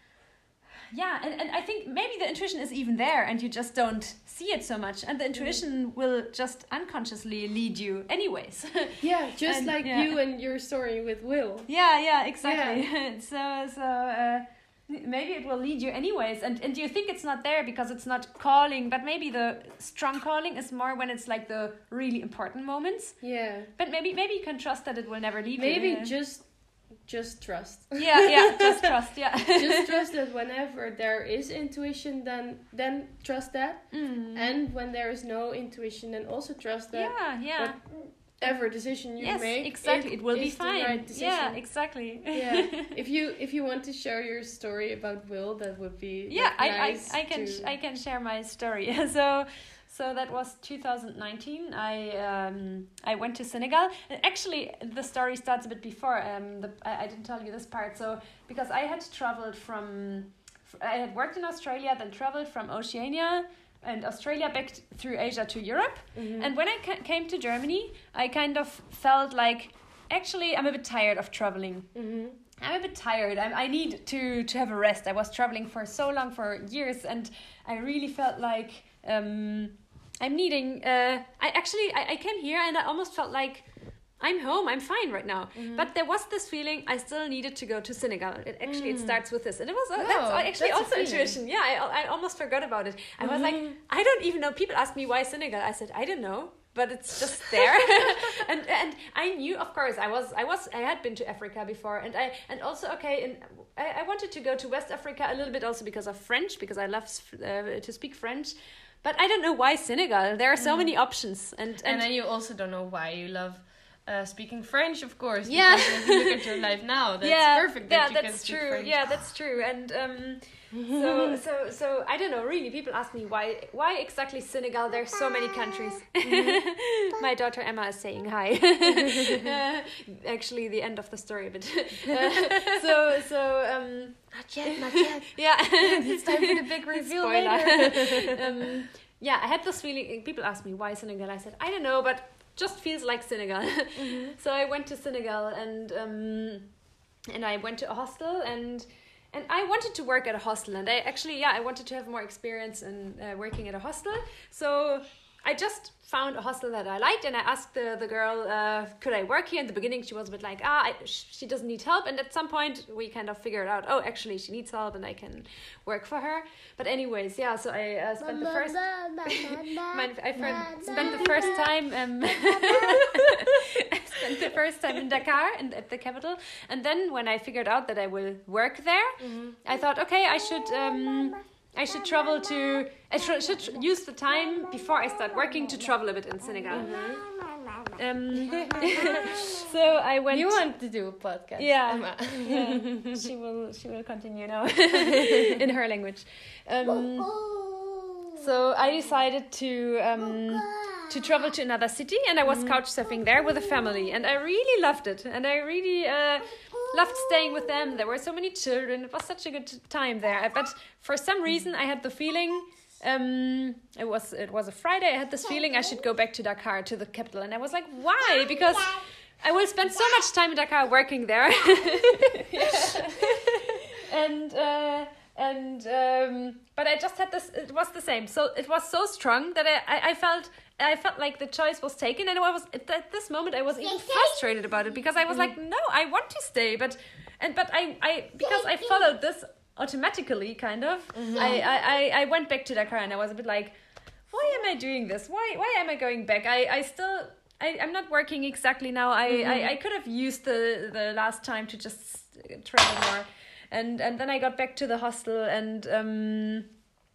Speaker 2: Yeah, and, and I think maybe the intuition is even there and you just don't see it so much, and the intuition will just unconsciously lead you anyways.
Speaker 1: Yeah, just
Speaker 2: And-
Speaker 1: like
Speaker 2: yeah.
Speaker 1: you and your story with Will.
Speaker 2: Yeah, yeah, exactly. so, so uh, maybe it will lead you anyways, and and you think it's not there because it's not calling, but maybe the strong calling is more when it's like the really important moments.
Speaker 1: Yeah.
Speaker 2: But maybe maybe you can trust that it will never leave
Speaker 1: Maybe
Speaker 2: you.
Speaker 1: just just trust.
Speaker 2: Yeah, yeah, just trust. Yeah,
Speaker 1: Just trust that whenever there is intuition, then then trust that.
Speaker 2: Mm.
Speaker 1: And when there is no intuition, then also trust that
Speaker 2: yeah, yeah.
Speaker 1: whatever decision you
Speaker 2: Yes,
Speaker 1: make,
Speaker 2: exactly. It, will be
Speaker 1: is the
Speaker 2: fine.
Speaker 1: right decision.
Speaker 2: Yeah, exactly.
Speaker 1: Yeah. If you if you want to share your story about Will, that would be
Speaker 2: yeah,
Speaker 1: like,
Speaker 2: I,
Speaker 1: nice
Speaker 2: I I can
Speaker 1: to-
Speaker 2: sh- I can share my story. so so that was two thousand nineteen. I um I went to Senegal. And actually, the story starts a bit before. Um, the I, I didn't tell you this part. So because I had traveled from, I had worked in Australia, then traveled from Oceania and Australia back t- through Asia to Europe.
Speaker 1: Mhm.
Speaker 2: And when I ca- came to Germany, I kind of felt like, actually, I'm a bit tired of traveling.
Speaker 1: Mhm.
Speaker 2: I'm a bit tired. I, I need to, to have a rest. I was traveling for so long, for years, and I really felt like um, I'm needing... Uh, I actually, I, I came here and I almost felt like I'm home, I'm fine right now.
Speaker 1: Mhm.
Speaker 2: But there was this feeling I still needed to go to Senegal. It, actually, it
Speaker 1: Mm.
Speaker 2: starts with this. And it was uh,
Speaker 1: Wow,
Speaker 2: that's actually
Speaker 1: that's a
Speaker 2: also
Speaker 1: feeling.
Speaker 2: intuition. Yeah, I, I almost forgot about it. I was like,
Speaker 1: Mhm.
Speaker 2: I don't even know. People ask me, why Senegal? I said, I don't know.
Speaker 3: but it's just there. and and I knew, of course, I was I was I had been to Africa before, and I and also okay, and I, I wanted to go to West Africa a little bit also because of French, because I love uh, to speak French. But I don't know why Senegal. There are so mm. many options, and, and
Speaker 1: and then you also don't know why you love uh, speaking French, of course.
Speaker 3: Yeah.
Speaker 1: Because if you look at your life now, that's
Speaker 3: yeah,
Speaker 1: perfect. That
Speaker 3: yeah,
Speaker 1: you
Speaker 3: that's
Speaker 1: can speak
Speaker 3: true.
Speaker 1: French.
Speaker 3: Yeah, that's true. And um, so so so I don't know. Really, people ask me why why exactly Senegal. There's so many countries. Mm-hmm. My daughter Emma is saying hi. uh, actually, the end of the story, but uh, so so um.
Speaker 1: Not yet, not yet.
Speaker 3: Yeah,
Speaker 1: it's time for the big reveal later.
Speaker 3: um, yeah, I had this feeling. People asked me why Senegal. I said I don't know, but just feels like Senegal. Mm-hmm. So I went to Senegal, and um, and I went to a hostel, and and I wanted to work at a hostel, and I actually yeah I wanted to have more experience in uh, working at a hostel. So I just found a hostel that I liked, and I asked the, the girl, uh, could I work here? In the beginning, she was a bit like, ah, I, she doesn't need help. And at some point, we kind of figured out, oh, actually, she needs help, and I can work for her. But anyways, yeah, so I uh, spent the first... my, I first, spent the first time... Um, I spent the first time in Dakar, in, at the capital. And then when I figured out that I will work there, mm-hmm. I thought, okay, I should... Um, I should travel to... I should, should use the time before I start working to travel a bit in Senegal. Mm-hmm. Um, so I went...
Speaker 1: You want to do a podcast,
Speaker 3: yeah,
Speaker 1: Emma.
Speaker 3: Yeah. She will She will continue now in her language. Um, so I decided to... Um, to travel to another city, and I was mm-hmm. couch surfing there with a family, and I really loved it, and I really uh, loved staying with them. There were so many children. It was such a good time there. But for some reason, I had the feeling um, it was it was a Friday. I had this feeling I should go back to Dakar, to the capital, and I was like, why? Because I will spend so much time in Dakar working there, and. Uh, And um, but I just had this. It was the same. So it was so strong that I, I, I felt I felt like the choice was taken, and I was at this moment I was even frustrated about it, because I was like, no, I want to stay, but and but I, I because I followed this automatically, kind of. Mm-hmm. I, I, I went back to Dakar, and I was a bit like, why am I doing this? Why why am I going back? I, I still I, I'm not working exactly now. I, mm-hmm. I, I could have used the the last time to just travel more. And and then I got back to the hostel, and um,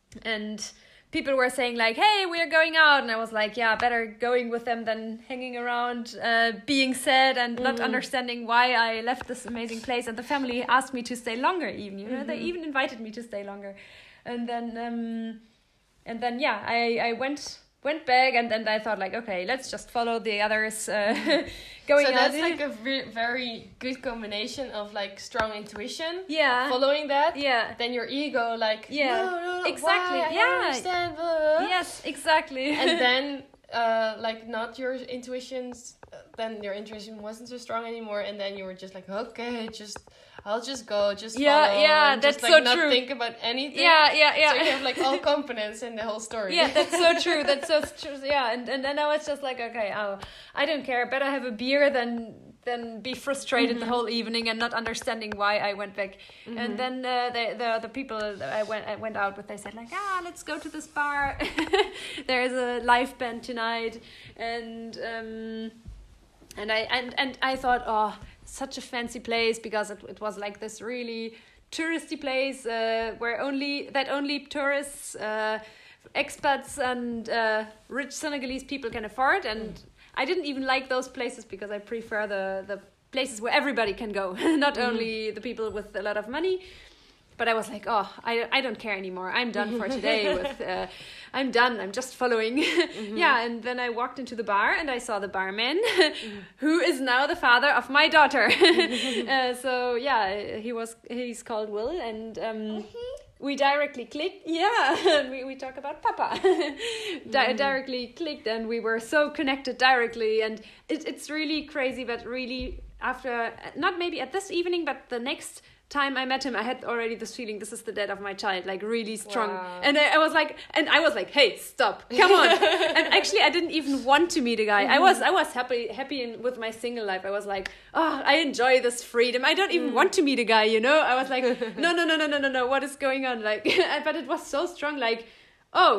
Speaker 3: and people were saying like, hey, we're going out. And I was like, yeah, better going with them than hanging around, uh, being sad and mm. not understanding why I left this amazing place. And the family asked me to stay longer even, you know, mm-hmm. they even invited me to stay longer. And then, um, and then yeah, I, I went... went back, and then I thought like, okay, let's just follow the others uh, going
Speaker 1: so that's
Speaker 3: out.
Speaker 1: like a re- very good combination of like strong intuition,
Speaker 3: yeah,
Speaker 1: following that,
Speaker 3: yeah,
Speaker 1: then your ego like,
Speaker 3: yeah,
Speaker 1: no, no, no,
Speaker 3: exactly,
Speaker 1: why? I
Speaker 3: yeah,
Speaker 1: don't understand, blah, blah, blah.
Speaker 3: Yes, exactly.
Speaker 1: And then uh, like not your intuitions, then your intuition wasn't so strong anymore, and then you were just like, okay, just I'll just go, just
Speaker 3: yeah,
Speaker 1: follow,
Speaker 3: yeah,
Speaker 1: and
Speaker 3: that's
Speaker 1: just, like,
Speaker 3: so
Speaker 1: not
Speaker 3: true.
Speaker 1: Think about anything.
Speaker 3: Yeah, yeah, yeah.
Speaker 1: So you have like all confidence in the whole story.
Speaker 3: Yeah, that's so true. That's so true. Yeah, and and then I was just like, okay, oh, I don't care. Better have a beer than than be frustrated mm-hmm. the whole evening and not understanding why I went back. Mm-hmm. And then uh, the the the people I went I went out with, they said like, ah, let's go to this bar. There's a live band tonight, and um, and I and and I thought, oh, such a fancy place, because it, it was like this really touristy place uh, where only that only tourists, uh, expats, and uh, rich Senegalese people can afford. And mm. I didn't even like those places, because I prefer the the places where everybody can go, not mm. only the people with a lot of money. But I was like, oh, I, I don't care anymore. I'm done for today. With uh, I'm done. I'm just following. Mm-hmm. Yeah, and then I walked into the bar, and I saw the barman, mm-hmm. who is now the father of my daughter. uh, so yeah, he was he's called Will, and um, mm-hmm. we directly clicked. Yeah, we we talk about Papa. Di- mm-hmm. Directly clicked, and we were so connected directly, and it, it's really crazy. But really, after not maybe at this evening, but the next time I met him, I had already this feeling, this is the dad of my child, like really strong. Wow. And I, I was like, and I was like, hey, stop, come on. And actually, I didn't even want to meet a guy. Mm-hmm. I was, I was happy, happy in, with my single life. I was like, oh, I enjoy this freedom. I don't even mm. want to meet a guy, you know. I was like, no, no, no, no, no, no, no. What is going on? Like, but it was so strong. Like, oh,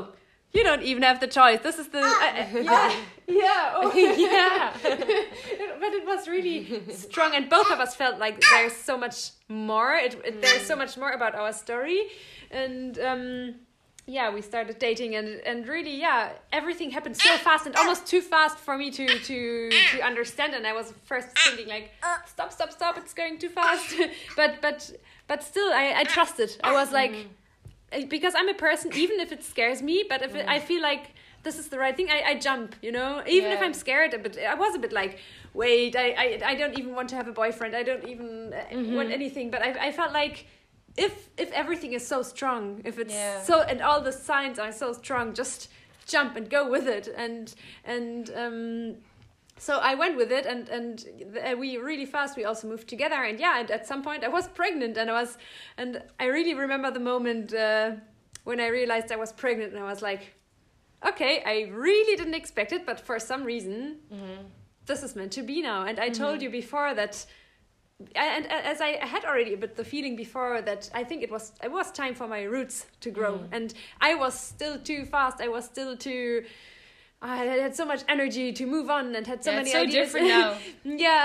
Speaker 3: you don't even have the choice. This is the uh, yeah yeah oh. yeah. But it was really strong, and both of us felt like there's so much more. It, it there's so much more about our story, and um, yeah, we started dating, and and really yeah, everything happened so fast and almost too fast for me to to to understand. And I was first thinking like, stop, stop, stop! It's going too fast. but but but still, I I trusted. I was like. Because I'm a person, even if it scares me, but if it, I feel like this is the right thing, I, I jump, you know? Even
Speaker 1: yeah.
Speaker 3: if I'm scared, but I was a bit like, wait, I, I, I don't even want to have a boyfriend. I don't even mm-hmm. want anything. But I, I felt like if if everything is so strong, if it's
Speaker 1: yeah.
Speaker 3: so, and all the signs are so strong, just jump and go with it. And, and, um... So I went with it, and and we really fast. We also moved together, and yeah, and at some point I was pregnant, and I was, and I really remember the moment uh, when I realized I was pregnant, and I was like, okay, I really didn't expect it, but for some reason, mm-hmm. this is meant to be now. And I mm-hmm. told you before that, and as I had already a bit the feeling before that I think it was it was time for my roots to grow, mm. and I was still too fast. I was still too. I had so much energy to move on and had so
Speaker 1: yeah,
Speaker 3: many
Speaker 1: it's so
Speaker 3: ideas.
Speaker 1: different now.
Speaker 3: yeah.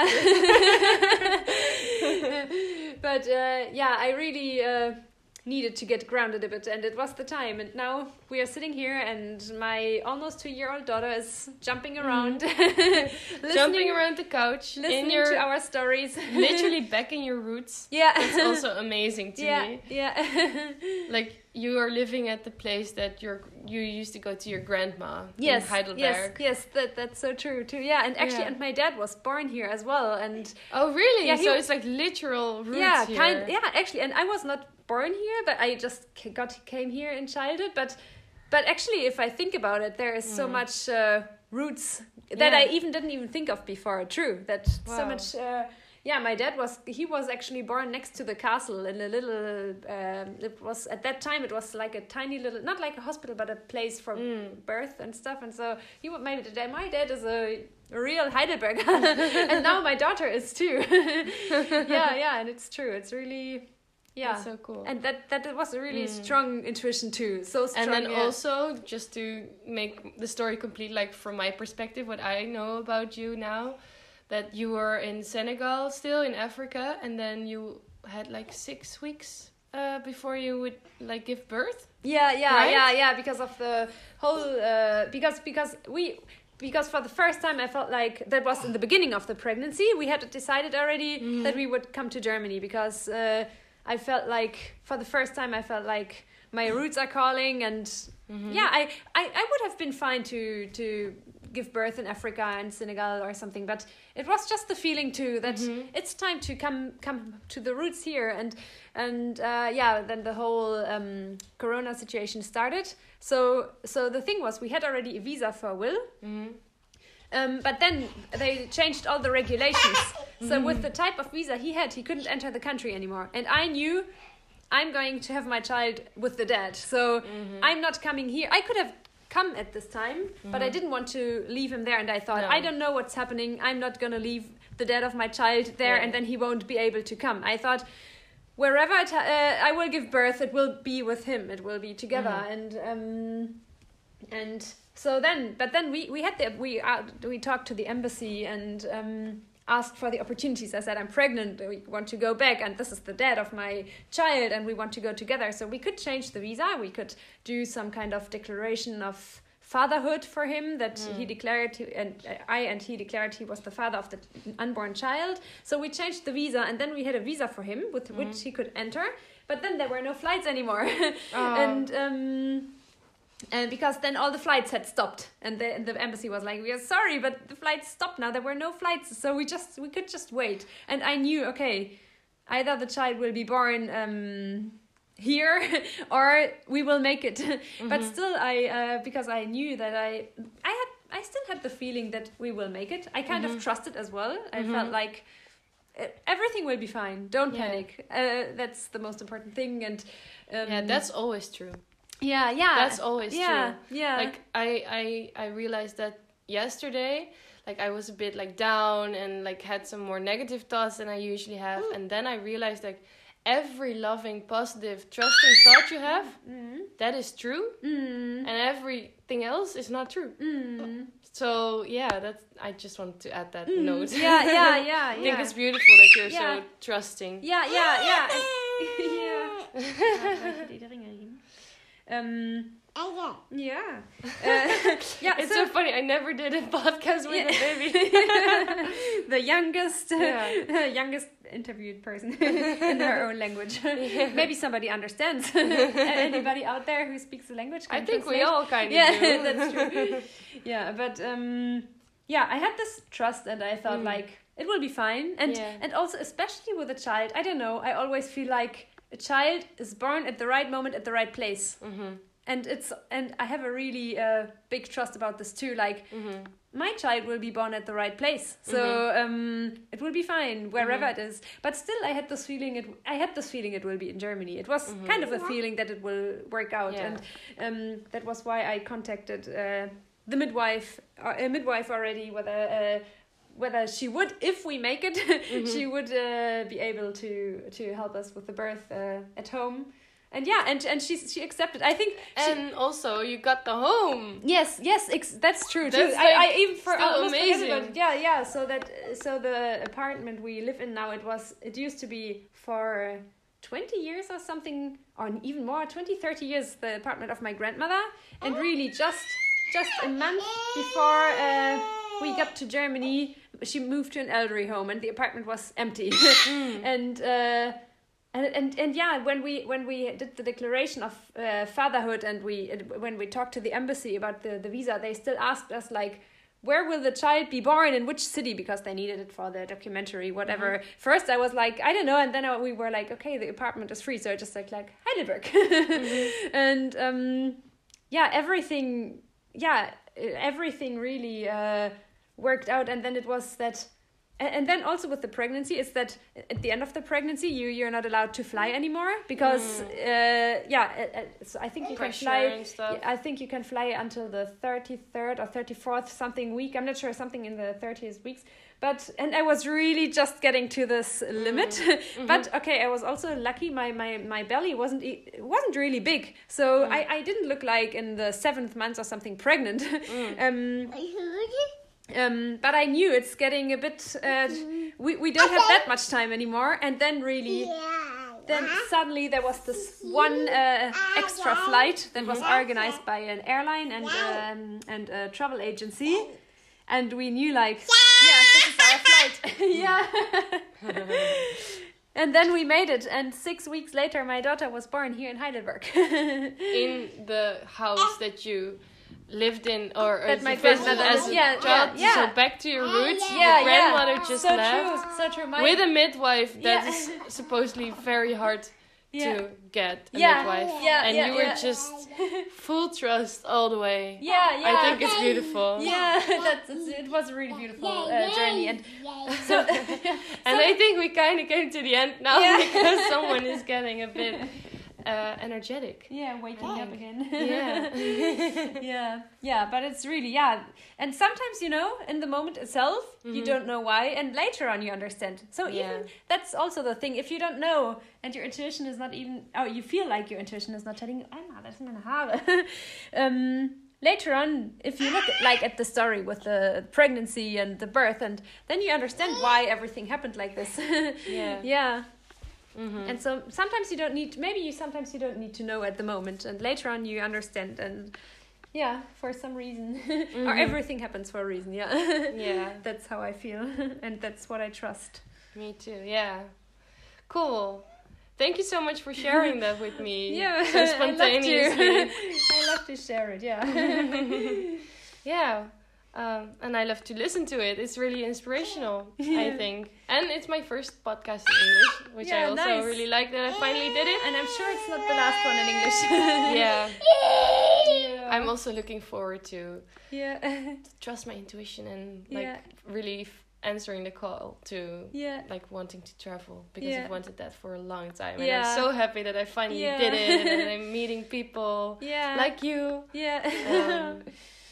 Speaker 3: But uh, yeah, I really uh, needed to get grounded a bit, and it was the time. And now we are sitting here, and my almost two-year-old daughter is jumping around,
Speaker 1: mm-hmm. jumping around the couch,
Speaker 3: listening
Speaker 1: in your,
Speaker 3: to our stories,
Speaker 1: literally back in your roots.
Speaker 3: Yeah,
Speaker 1: it's also amazing to
Speaker 3: yeah,
Speaker 1: me.
Speaker 3: Yeah,
Speaker 1: like you are living at the place that you're you used to go to your grandma
Speaker 3: yes,
Speaker 1: in Heidelberg.
Speaker 3: Yes, yes, that that's so true too. Yeah, and actually,
Speaker 1: yeah.
Speaker 3: and my dad was born here as well. And
Speaker 1: oh, really?
Speaker 3: Yeah,
Speaker 1: so
Speaker 3: he,
Speaker 1: it's like literal roots
Speaker 3: yeah,
Speaker 1: here.
Speaker 3: kind. Yeah, actually, and I was not born here, but I just got came here in childhood. But but actually, if I think about it, there is mm. so much uh, roots that
Speaker 1: yeah.
Speaker 3: I even didn't even think of before. True, that wow. so much. Uh, Yeah, my dad was, he was actually born next to the castle in a little, um, it was, at that time, it was like a tiny little, not like a hospital, but a place for mm. birth and stuff. And so, he would, my dad, my dad is a, a real Heidelberger. And now my daughter is too. yeah, yeah, and it's true. It's really, yeah.
Speaker 1: That's so cool.
Speaker 3: And that, that was a really mm. strong intuition too. So strong.
Speaker 1: And then
Speaker 3: yeah.
Speaker 1: also, just to make the story complete, like from my perspective, what I know about you now, that you were in Senegal still in Africa, and then you had like six weeks uh, before you would like give birth.
Speaker 3: Yeah, yeah,
Speaker 1: right?
Speaker 3: yeah, yeah. Because of the whole, uh, because because we, because for the first time I felt like that was in the beginning of the pregnancy. We had decided already mm. that we would come to Germany because uh, I felt like for the first time I felt like my roots are calling, and mm-hmm. yeah, I, I I would have been fine to to. give birth in Africa and Senegal or something, but it was just the feeling too that mm-hmm. it's time to come come to the roots here, and and uh, yeah, then the whole um, Corona situation started. So so the thing was, we had already a visa for Will, mm-hmm. um, but then they changed all the regulations. Mm-hmm. So with the type of visa he had, he couldn't enter the country anymore, and I knew I'm going to have my child with the dad, so mm-hmm. I'm not coming here. I could have come at this time, mm-hmm. but I didn't want to leave him there, and I thought, no. I don't know what's happening, I'm not gonna leave the dad of my child there, yeah. and then he won't be able to come. I thought wherever I, t- uh, I will give birth, it will be with him, it will be together. Mm-hmm. and um and so then but then we we had the we uh, we talked to the embassy and um asked for the opportunities. I said, I'm pregnant, we want to go back, and this is the dad of my child, and we want to go together. So we could change the visa, we could do some kind of declaration of fatherhood for him, that mm. he declared, and I and he declared he was the father of the unborn child. So we changed the visa, and then we had a visa for him with mm. which he could enter, but then there were no flights anymore. Oh. and um And because then all the flights had stopped, and the, and the embassy was like, we are sorry, but the flights stopped now. There were no flights, so we just we could just wait. And I knew, okay, either the child will be born um, here, or we will make it. Mm-hmm. But still, I uh, because I knew that I I had I still had the feeling that we will make it. I kind mm-hmm. of trusted as well. I mm-hmm. felt like everything will be fine. Don't yeah. panic. Uh, that's the most important thing. And um,
Speaker 1: yeah, that's always true.
Speaker 3: Yeah, yeah.
Speaker 1: That's always
Speaker 3: yeah,
Speaker 1: true.
Speaker 3: Yeah.
Speaker 1: Like I, I I realized that yesterday, like I was a bit like down and like had some more negative thoughts than I usually have, Ooh. And then I realized like every loving, positive, trusting thought you have,
Speaker 2: Mm.
Speaker 1: that is true,
Speaker 2: Mm.
Speaker 1: and everything else is not true.
Speaker 2: Mm.
Speaker 1: So yeah, that's. I just wanted to add that
Speaker 2: Mm.
Speaker 1: note.
Speaker 2: Yeah, yeah, yeah.
Speaker 1: I think
Speaker 2: yeah.
Speaker 1: it's beautiful that you're
Speaker 2: Yeah.
Speaker 1: so trusting.
Speaker 2: Yeah, yeah, yeah. yeah. um, yeah. Uh, yeah.
Speaker 1: It's
Speaker 2: so
Speaker 1: so funny. I never did a podcast with
Speaker 2: Yeah.
Speaker 1: a baby.
Speaker 2: the youngest, uh,
Speaker 1: Yeah.
Speaker 2: youngest interviewed person in her own language.
Speaker 1: Yeah.
Speaker 2: Maybe somebody understands. Anybody out there who speaks the language? Can
Speaker 1: I think we
Speaker 2: translate?
Speaker 1: all kind of
Speaker 2: Yeah,
Speaker 1: do.
Speaker 2: that's true. Yeah, but um, yeah, I had this trust, and I thought
Speaker 1: Mm.
Speaker 2: like it will be fine, and
Speaker 1: Yeah.
Speaker 2: and also especially with a child, I don't know. I always feel like a child is born at the right moment at the right place,
Speaker 1: Mhm.
Speaker 2: and it's and I have a really uh, big trust about this too. Like
Speaker 1: Mhm.
Speaker 2: my child will be born at the right place, so um, it will be fine wherever
Speaker 1: Mhm.
Speaker 2: it is. But still, I had this feeling. It I had this feeling it will be in Germany. It was
Speaker 1: Mhm.
Speaker 2: kind of a feeling that it will work out,
Speaker 1: Yeah.
Speaker 2: and um, that was why I contacted uh, the midwife, uh, a midwife already, whether. Uh, whether she would, if we make it, she would uh, be able to to help us with the birth uh, at home, and yeah, and and she she accepted. I think. She,
Speaker 1: And also, you got the home.
Speaker 2: Yes, yes, ex- that's true too.
Speaker 1: That's,
Speaker 2: I,
Speaker 1: like,
Speaker 2: I even for
Speaker 1: still
Speaker 2: almost forget
Speaker 1: amazing.
Speaker 2: about it. Yeah, yeah. So that so the apartment we live in now, it was it used to be for twenty years or something, or even more, twenty, thirty years, the apartment of my grandmother, and really just just a month before uh, we got to Germany, she moved to an elderly home, and the apartment was empty, and. Uh, And, and and yeah, when we when we did the declaration of uh, fatherhood, and we when we talked to the embassy about the, the visa, they still asked us like, where will the child be born, in which city, because they needed it for the documentary, whatever. Mm-hmm. First I was like, I don't know, and then we were like, okay, the apartment is free, so I just like like Heidelberg, mm-hmm. and um, yeah, everything, yeah, everything really uh, worked out, and then it was that. And then also with the pregnancy, is that at the end of the pregnancy, you you're not allowed to fly anymore because mm. uh, yeah, uh, so I think you
Speaker 1: Pressure
Speaker 2: can fly.
Speaker 1: And stuff.
Speaker 2: I think you can fly until the thirty-third or thirty-fourth something week. I'm not sure, something in the thirtieth weeks. But and I was really just getting to this mm. limit. Mm-hmm. But okay, I was also lucky. My my, my belly wasn't it wasn't really big, so mm. I I didn't look like in the seventh month or something pregnant. Mm. um, Um, but I knew it's getting a bit. Uh, we we don't have that much time anymore, and then really, then suddenly there was this one uh, extra flight that was organized by an airline and um, and a travel agency, and we knew like, yeah, this is our flight, yeah. And then we made it, and six weeks later, my daughter was born here in Heidelberg.
Speaker 1: In the house that you lived in, or
Speaker 2: That
Speaker 1: as
Speaker 2: my
Speaker 1: a visit
Speaker 2: grandmother-
Speaker 1: as a
Speaker 2: yeah,
Speaker 1: child.
Speaker 2: yeah, yeah.
Speaker 1: So back to your roots.
Speaker 2: Yeah,
Speaker 1: your grandmother
Speaker 2: yeah.
Speaker 1: just
Speaker 2: so
Speaker 1: left
Speaker 2: true, so true. My,
Speaker 1: with a midwife that
Speaker 2: Yeah.
Speaker 1: is supposedly very hard
Speaker 2: Yeah.
Speaker 1: to get a
Speaker 2: Yeah,
Speaker 1: midwife,
Speaker 2: yeah,
Speaker 1: and
Speaker 2: yeah,
Speaker 1: you were
Speaker 2: yeah.
Speaker 1: just full trust all the way.
Speaker 2: yeah, yeah.
Speaker 1: I think it's beautiful.
Speaker 2: Yeah, that's it's, it was a really beautiful uh, journey, and so
Speaker 1: And I think we kind of came to the end now
Speaker 2: Yeah.
Speaker 1: because someone is getting a bit uh, energetic.
Speaker 2: yeah, waking up again.
Speaker 1: Yeah.
Speaker 2: yeah, yeah, but it's really yeah, and sometimes you know, in the moment itself, you don't know why, and later on you understand. So
Speaker 1: Yeah.
Speaker 2: even that's also the thing. If you don't know, and your intuition is not even, oh, you feel like your intuition is not telling you, Emma, das sind meine Haare. um. Later on, if you look at, like at the story with the pregnancy and the birth, and then you understand why everything happened like this.
Speaker 1: Yeah.
Speaker 2: Yeah.
Speaker 1: Mm-hmm.
Speaker 2: And so sometimes you don't need, maybe you sometimes you don't need to know at the moment, and later on you understand, and yeah, for some reason,
Speaker 1: Mm-hmm.
Speaker 2: or everything happens for a reason. Yeah.
Speaker 1: Yeah.
Speaker 2: That's how I feel, and that's what I trust.
Speaker 1: Me too. Yeah. Cool. Thank you so much for sharing that with me.
Speaker 2: Yeah,
Speaker 1: So spontaneously.
Speaker 2: I love to, I love to share it. Yeah.
Speaker 1: Yeah. Um, and I love to listen to it. It's really inspirational, I think. And it's my first podcast in English, which I
Speaker 2: Yeah,
Speaker 1: also
Speaker 2: nice.
Speaker 1: really like that I finally did it.
Speaker 2: And I'm sure it's not the last one in English.
Speaker 1: Yeah.
Speaker 2: Yeah.
Speaker 1: I'm also looking forward to
Speaker 2: Yeah.
Speaker 1: trust my intuition and like
Speaker 2: Yeah.
Speaker 1: really f- answering the call to
Speaker 2: Yeah.
Speaker 1: like wanting to travel, because
Speaker 2: Yeah.
Speaker 1: I've wanted that for a long time. And
Speaker 2: Yeah.
Speaker 1: I'm so happy that I finally
Speaker 2: Yeah.
Speaker 1: did it, and I'm meeting people
Speaker 2: Yeah.
Speaker 1: like you.
Speaker 2: Yeah.
Speaker 1: Um, but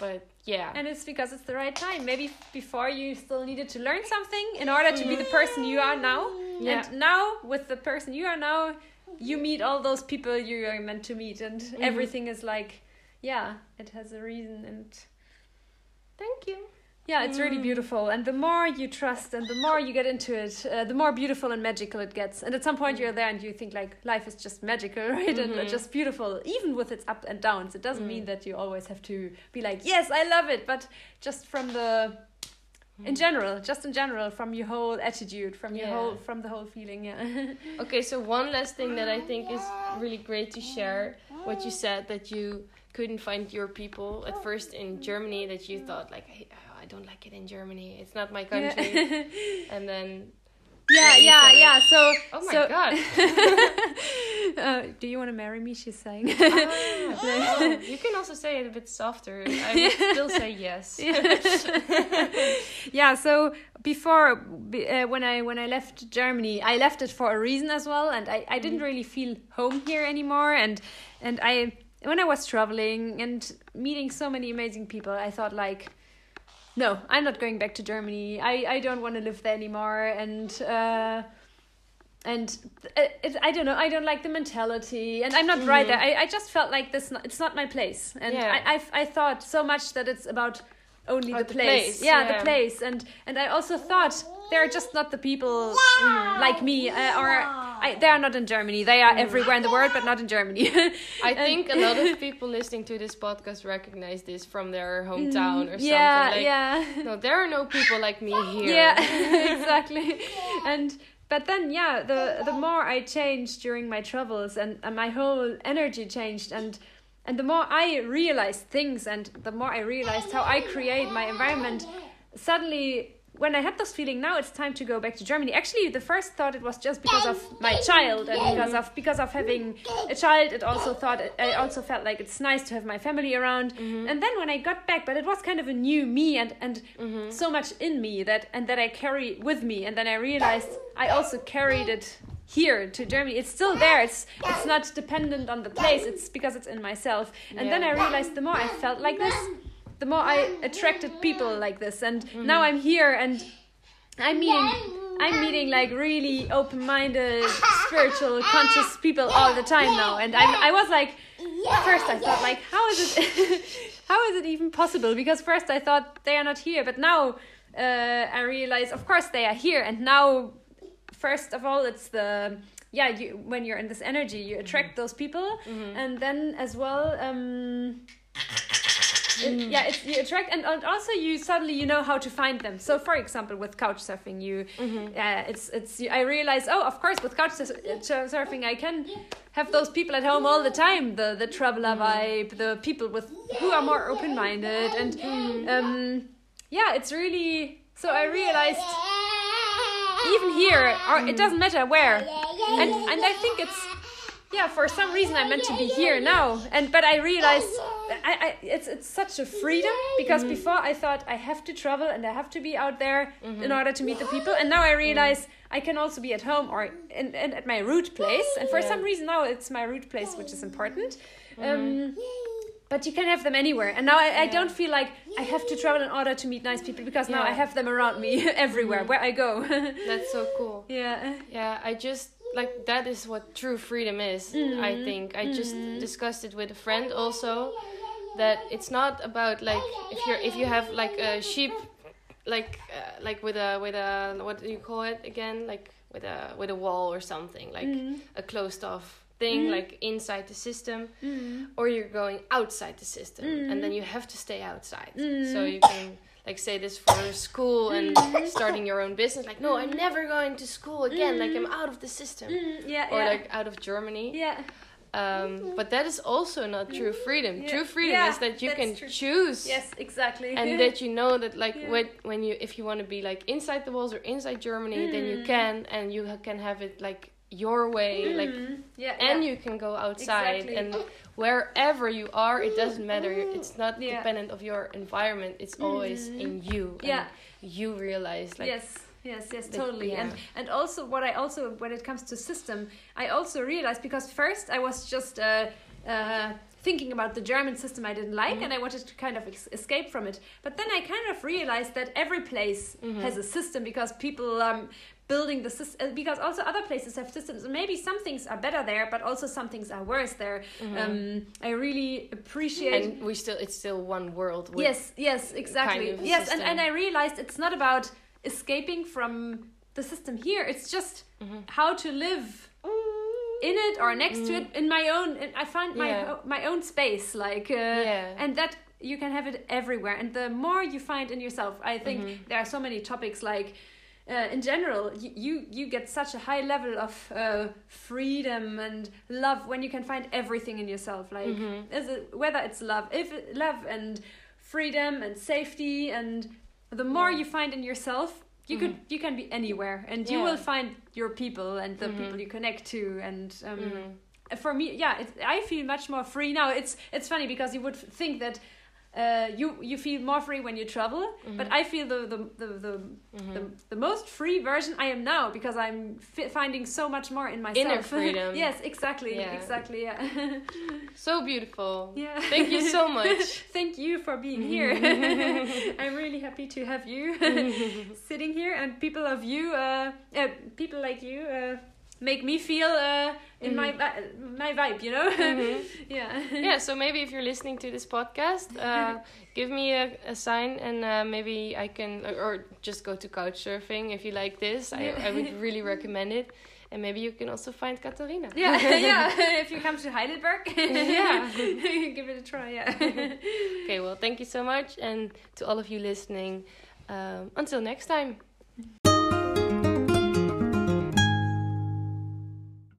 Speaker 1: Yeah.
Speaker 3: And it's because it's the right time. Maybe before you still needed to learn something in order to be the person you are now.
Speaker 1: Yeah.
Speaker 3: And now, with the person you are now, you meet all those people you are meant to meet. And
Speaker 1: Mm-hmm.
Speaker 3: everything is like, yeah, it has a reason. And
Speaker 1: Thank you.
Speaker 3: yeah, it's really beautiful. And the more you trust and the more you get into it, uh, the more beautiful and magical it gets. And at some point you're there and you think like life is just magical, right?
Speaker 1: Mm-hmm.
Speaker 3: And just beautiful, even with its ups and downs. It doesn't
Speaker 1: Mm.
Speaker 3: mean that you always have to be like, yes, I love it. But just from the, in general, just in general, from your whole attitude, from your
Speaker 1: Yeah.
Speaker 3: whole, from the whole feeling, yeah.
Speaker 1: Okay, so one last thing that I think is really great to share, what you said that you couldn't find your people at first in Germany, that you thought like, hey, I don't like it in Germany, it's not my country.
Speaker 3: Yeah.
Speaker 1: And then
Speaker 3: Yeah,
Speaker 1: you
Speaker 3: yeah,
Speaker 1: said it.
Speaker 3: yeah. So,
Speaker 1: Oh my
Speaker 3: so,
Speaker 1: god.
Speaker 3: uh, do you want to marry me? She's saying.
Speaker 1: Ah, oh, you can also say it a bit softer. I would still say yes.
Speaker 3: Yeah. So before, be- uh, when I when I left Germany, I left it for a reason as well, and I, I didn't really feel home here anymore. And and I when I was traveling and meeting so many amazing people, I thought like, no, I'm not going back to Germany. I, I don't want to live there anymore. And uh, and it, it, I don't know. I don't like the mentality, and I'm not right there. I, I just felt like this. Not, it's not my place. And
Speaker 1: Yeah.
Speaker 3: I, I I thought so much that it's about only
Speaker 1: About
Speaker 3: the
Speaker 1: the
Speaker 3: place.
Speaker 1: place,
Speaker 3: Yeah,
Speaker 1: yeah.
Speaker 3: the place. And and I also thought they're just not the people like me, uh, or I, they are not in Germany. They are everywhere in the world, but not in Germany.
Speaker 1: I think a lot of people listening to this podcast recognize this from their hometown or something.
Speaker 3: yeah,
Speaker 1: like,
Speaker 3: yeah.
Speaker 1: no, there are no people like me here.
Speaker 3: Yeah, exactly. And but then yeah, the the more I changed during my travels, and, and my whole energy changed, and and the more I realized things, and the more I realized how I create my environment, suddenly when I had this feeling, now it's time to go back to Germany. Actually, the first thought it was just because of my child, and because of because of having a child. It also thought I also felt like it's nice to have my family around.
Speaker 1: Mm-hmm.
Speaker 3: And then when I got back, but it was kind of a new me, and and
Speaker 1: Mm-hmm.
Speaker 3: so much in me that and that I carry with me. And then I realized I also carried it here to Germany. It's still there. It's it's not dependent on the place. It's because it's in myself. And then I
Speaker 1: Yeah.
Speaker 3: realized the more I felt like this, the more I attracted people like this. And now I'm here, and I'm meeting I'm meeting like really open-minded, spiritual, conscious people all the time now. And I I was like, first I thought like, how is it how is it even possible? Because first I thought they are not here, but now uh, I realize of course they are here. And now first of all it's the yeah you when you're in this energy you attract those people. And then as well um It, yeah, it's, you attract, and, and also you suddenly you know how to find them. So, for example, with couch surfing, you, uh, it's it's. I realize, oh, of course, with couch sur- surfing, I can have those people at home all the time. The the traveler vibe, the people with who are more open minded, and um, yeah, it's really. So I realized, even here, or it doesn't matter where, and and I think it's. Yeah, for some reason I'm meant to be here now, and but I realized I, I it's it's such a freedom, because before I thought I have to travel and I have to be out there in order to meet the people, and now I realize I can also be at home or in, in at my root place, and for
Speaker 1: Yeah.
Speaker 3: some reason now it's my root place, which is important. Um, but you can have them anywhere, and now I, I don't feel like I have to travel in order to meet nice people, because now
Speaker 1: Yeah.
Speaker 3: I have them around me everywhere where I go.
Speaker 1: That's so cool.
Speaker 3: Yeah.
Speaker 1: Yeah, I just like that is what true freedom is. I think I just discussed it with a friend also, that it's not about like if you're if you have like a sheep, like uh, like with a with a what do you call it again, like with a with a wall or something, like a closed off thing, like inside the system, or you're going outside the system, and then you have to stay outside. So you can like say this for school and starting your own business, like no, I'm never going to school again, like I'm out of the system,
Speaker 3: Yeah.
Speaker 1: or
Speaker 3: yeah.
Speaker 1: like out of Germany.
Speaker 3: yeah.
Speaker 1: Um, but that is also not true freedom.
Speaker 3: Yeah.
Speaker 1: True freedom
Speaker 3: Yeah,
Speaker 1: is that you
Speaker 3: that's
Speaker 1: can
Speaker 3: true.
Speaker 1: choose.
Speaker 3: Yes, exactly.
Speaker 1: And that you know that like
Speaker 3: Yeah.
Speaker 1: when when you if you want to be like inside the walls or inside Germany, then you can, and you ha- can have it like your way, like
Speaker 3: yeah,
Speaker 1: and
Speaker 3: yeah.
Speaker 1: you can go outside
Speaker 3: Exactly.
Speaker 1: and wherever you are, it doesn't matter. It's not
Speaker 3: Yeah.
Speaker 1: dependent of your environment. It's always in you.
Speaker 3: Yeah.
Speaker 1: And you realize like
Speaker 3: yes. Yes, yes,
Speaker 1: the-
Speaker 3: totally.
Speaker 1: yeah.
Speaker 3: And and also what I also when it comes to system, I also realized, because first I was just uh, uh, thinking about the German system I didn't like,
Speaker 1: Mm-hmm.
Speaker 3: and I wanted to kind of ex- escape from it. But then I kind of realized that every place
Speaker 1: Mm-hmm.
Speaker 3: has a system because people um building the system, because also other places have systems, and maybe some things are better there, but also some things are worse there.
Speaker 1: Mm-hmm.
Speaker 3: Um, I really appreciate.
Speaker 1: And we still, it's still one world. With
Speaker 3: Yes, yes, exactly.
Speaker 1: kind of a
Speaker 3: yes, and,
Speaker 1: system.
Speaker 3: and I realized it's not about escaping from the system here. It's just
Speaker 1: Mm-hmm.
Speaker 3: how to live in it or next to it in my own. In, I find my
Speaker 1: Yeah.
Speaker 3: o- my own space, like, uh,
Speaker 1: Yeah.
Speaker 3: and that you can have it everywhere. And the more you find in yourself, I think
Speaker 1: Mm-hmm.
Speaker 3: there are so many topics like. Uh, in general, you, you you get such a high level of uh, freedom and love when you can find everything in yourself. Like,
Speaker 1: Mm-hmm.
Speaker 3: is it, whether it's love, if it, love and freedom and safety, and the more
Speaker 1: Yeah.
Speaker 3: you find in yourself, you could you can be anywhere, and you
Speaker 1: Yeah.
Speaker 3: will find your people and the
Speaker 1: Mhm.
Speaker 3: people you connect to. And um,
Speaker 1: Mhm.
Speaker 3: for me, yeah, it, I feel much more free now. It's it's funny because you would think that. Uh, you you feel more free when you travel, but I feel the the the the, the the most free version I am now because I'm fi- finding so much more in myself.
Speaker 1: Inner freedom.
Speaker 3: Yes, exactly,
Speaker 1: Yeah.
Speaker 3: exactly. Yeah.
Speaker 1: So beautiful.
Speaker 3: Yeah.
Speaker 1: Thank you so much.
Speaker 3: Thank you for being here. I'm really happy to have you sitting here, and people of you, uh, uh, people like you, uh, make me feel uh, in my vi- my vibe. You know. Yeah.
Speaker 1: Yeah, so maybe if you're listening to this podcast, uh, give me a, a sign, and uh, maybe I can, or, or just go to Couchsurfing if you like this. I, I would really recommend it. And maybe you can also find Katharina.
Speaker 3: Yeah, yeah. If you come to Heidelberg,
Speaker 1: Yeah.
Speaker 3: give it a try. Yeah.
Speaker 1: Okay, well, thank you so much. And to all of you listening, um, until next time.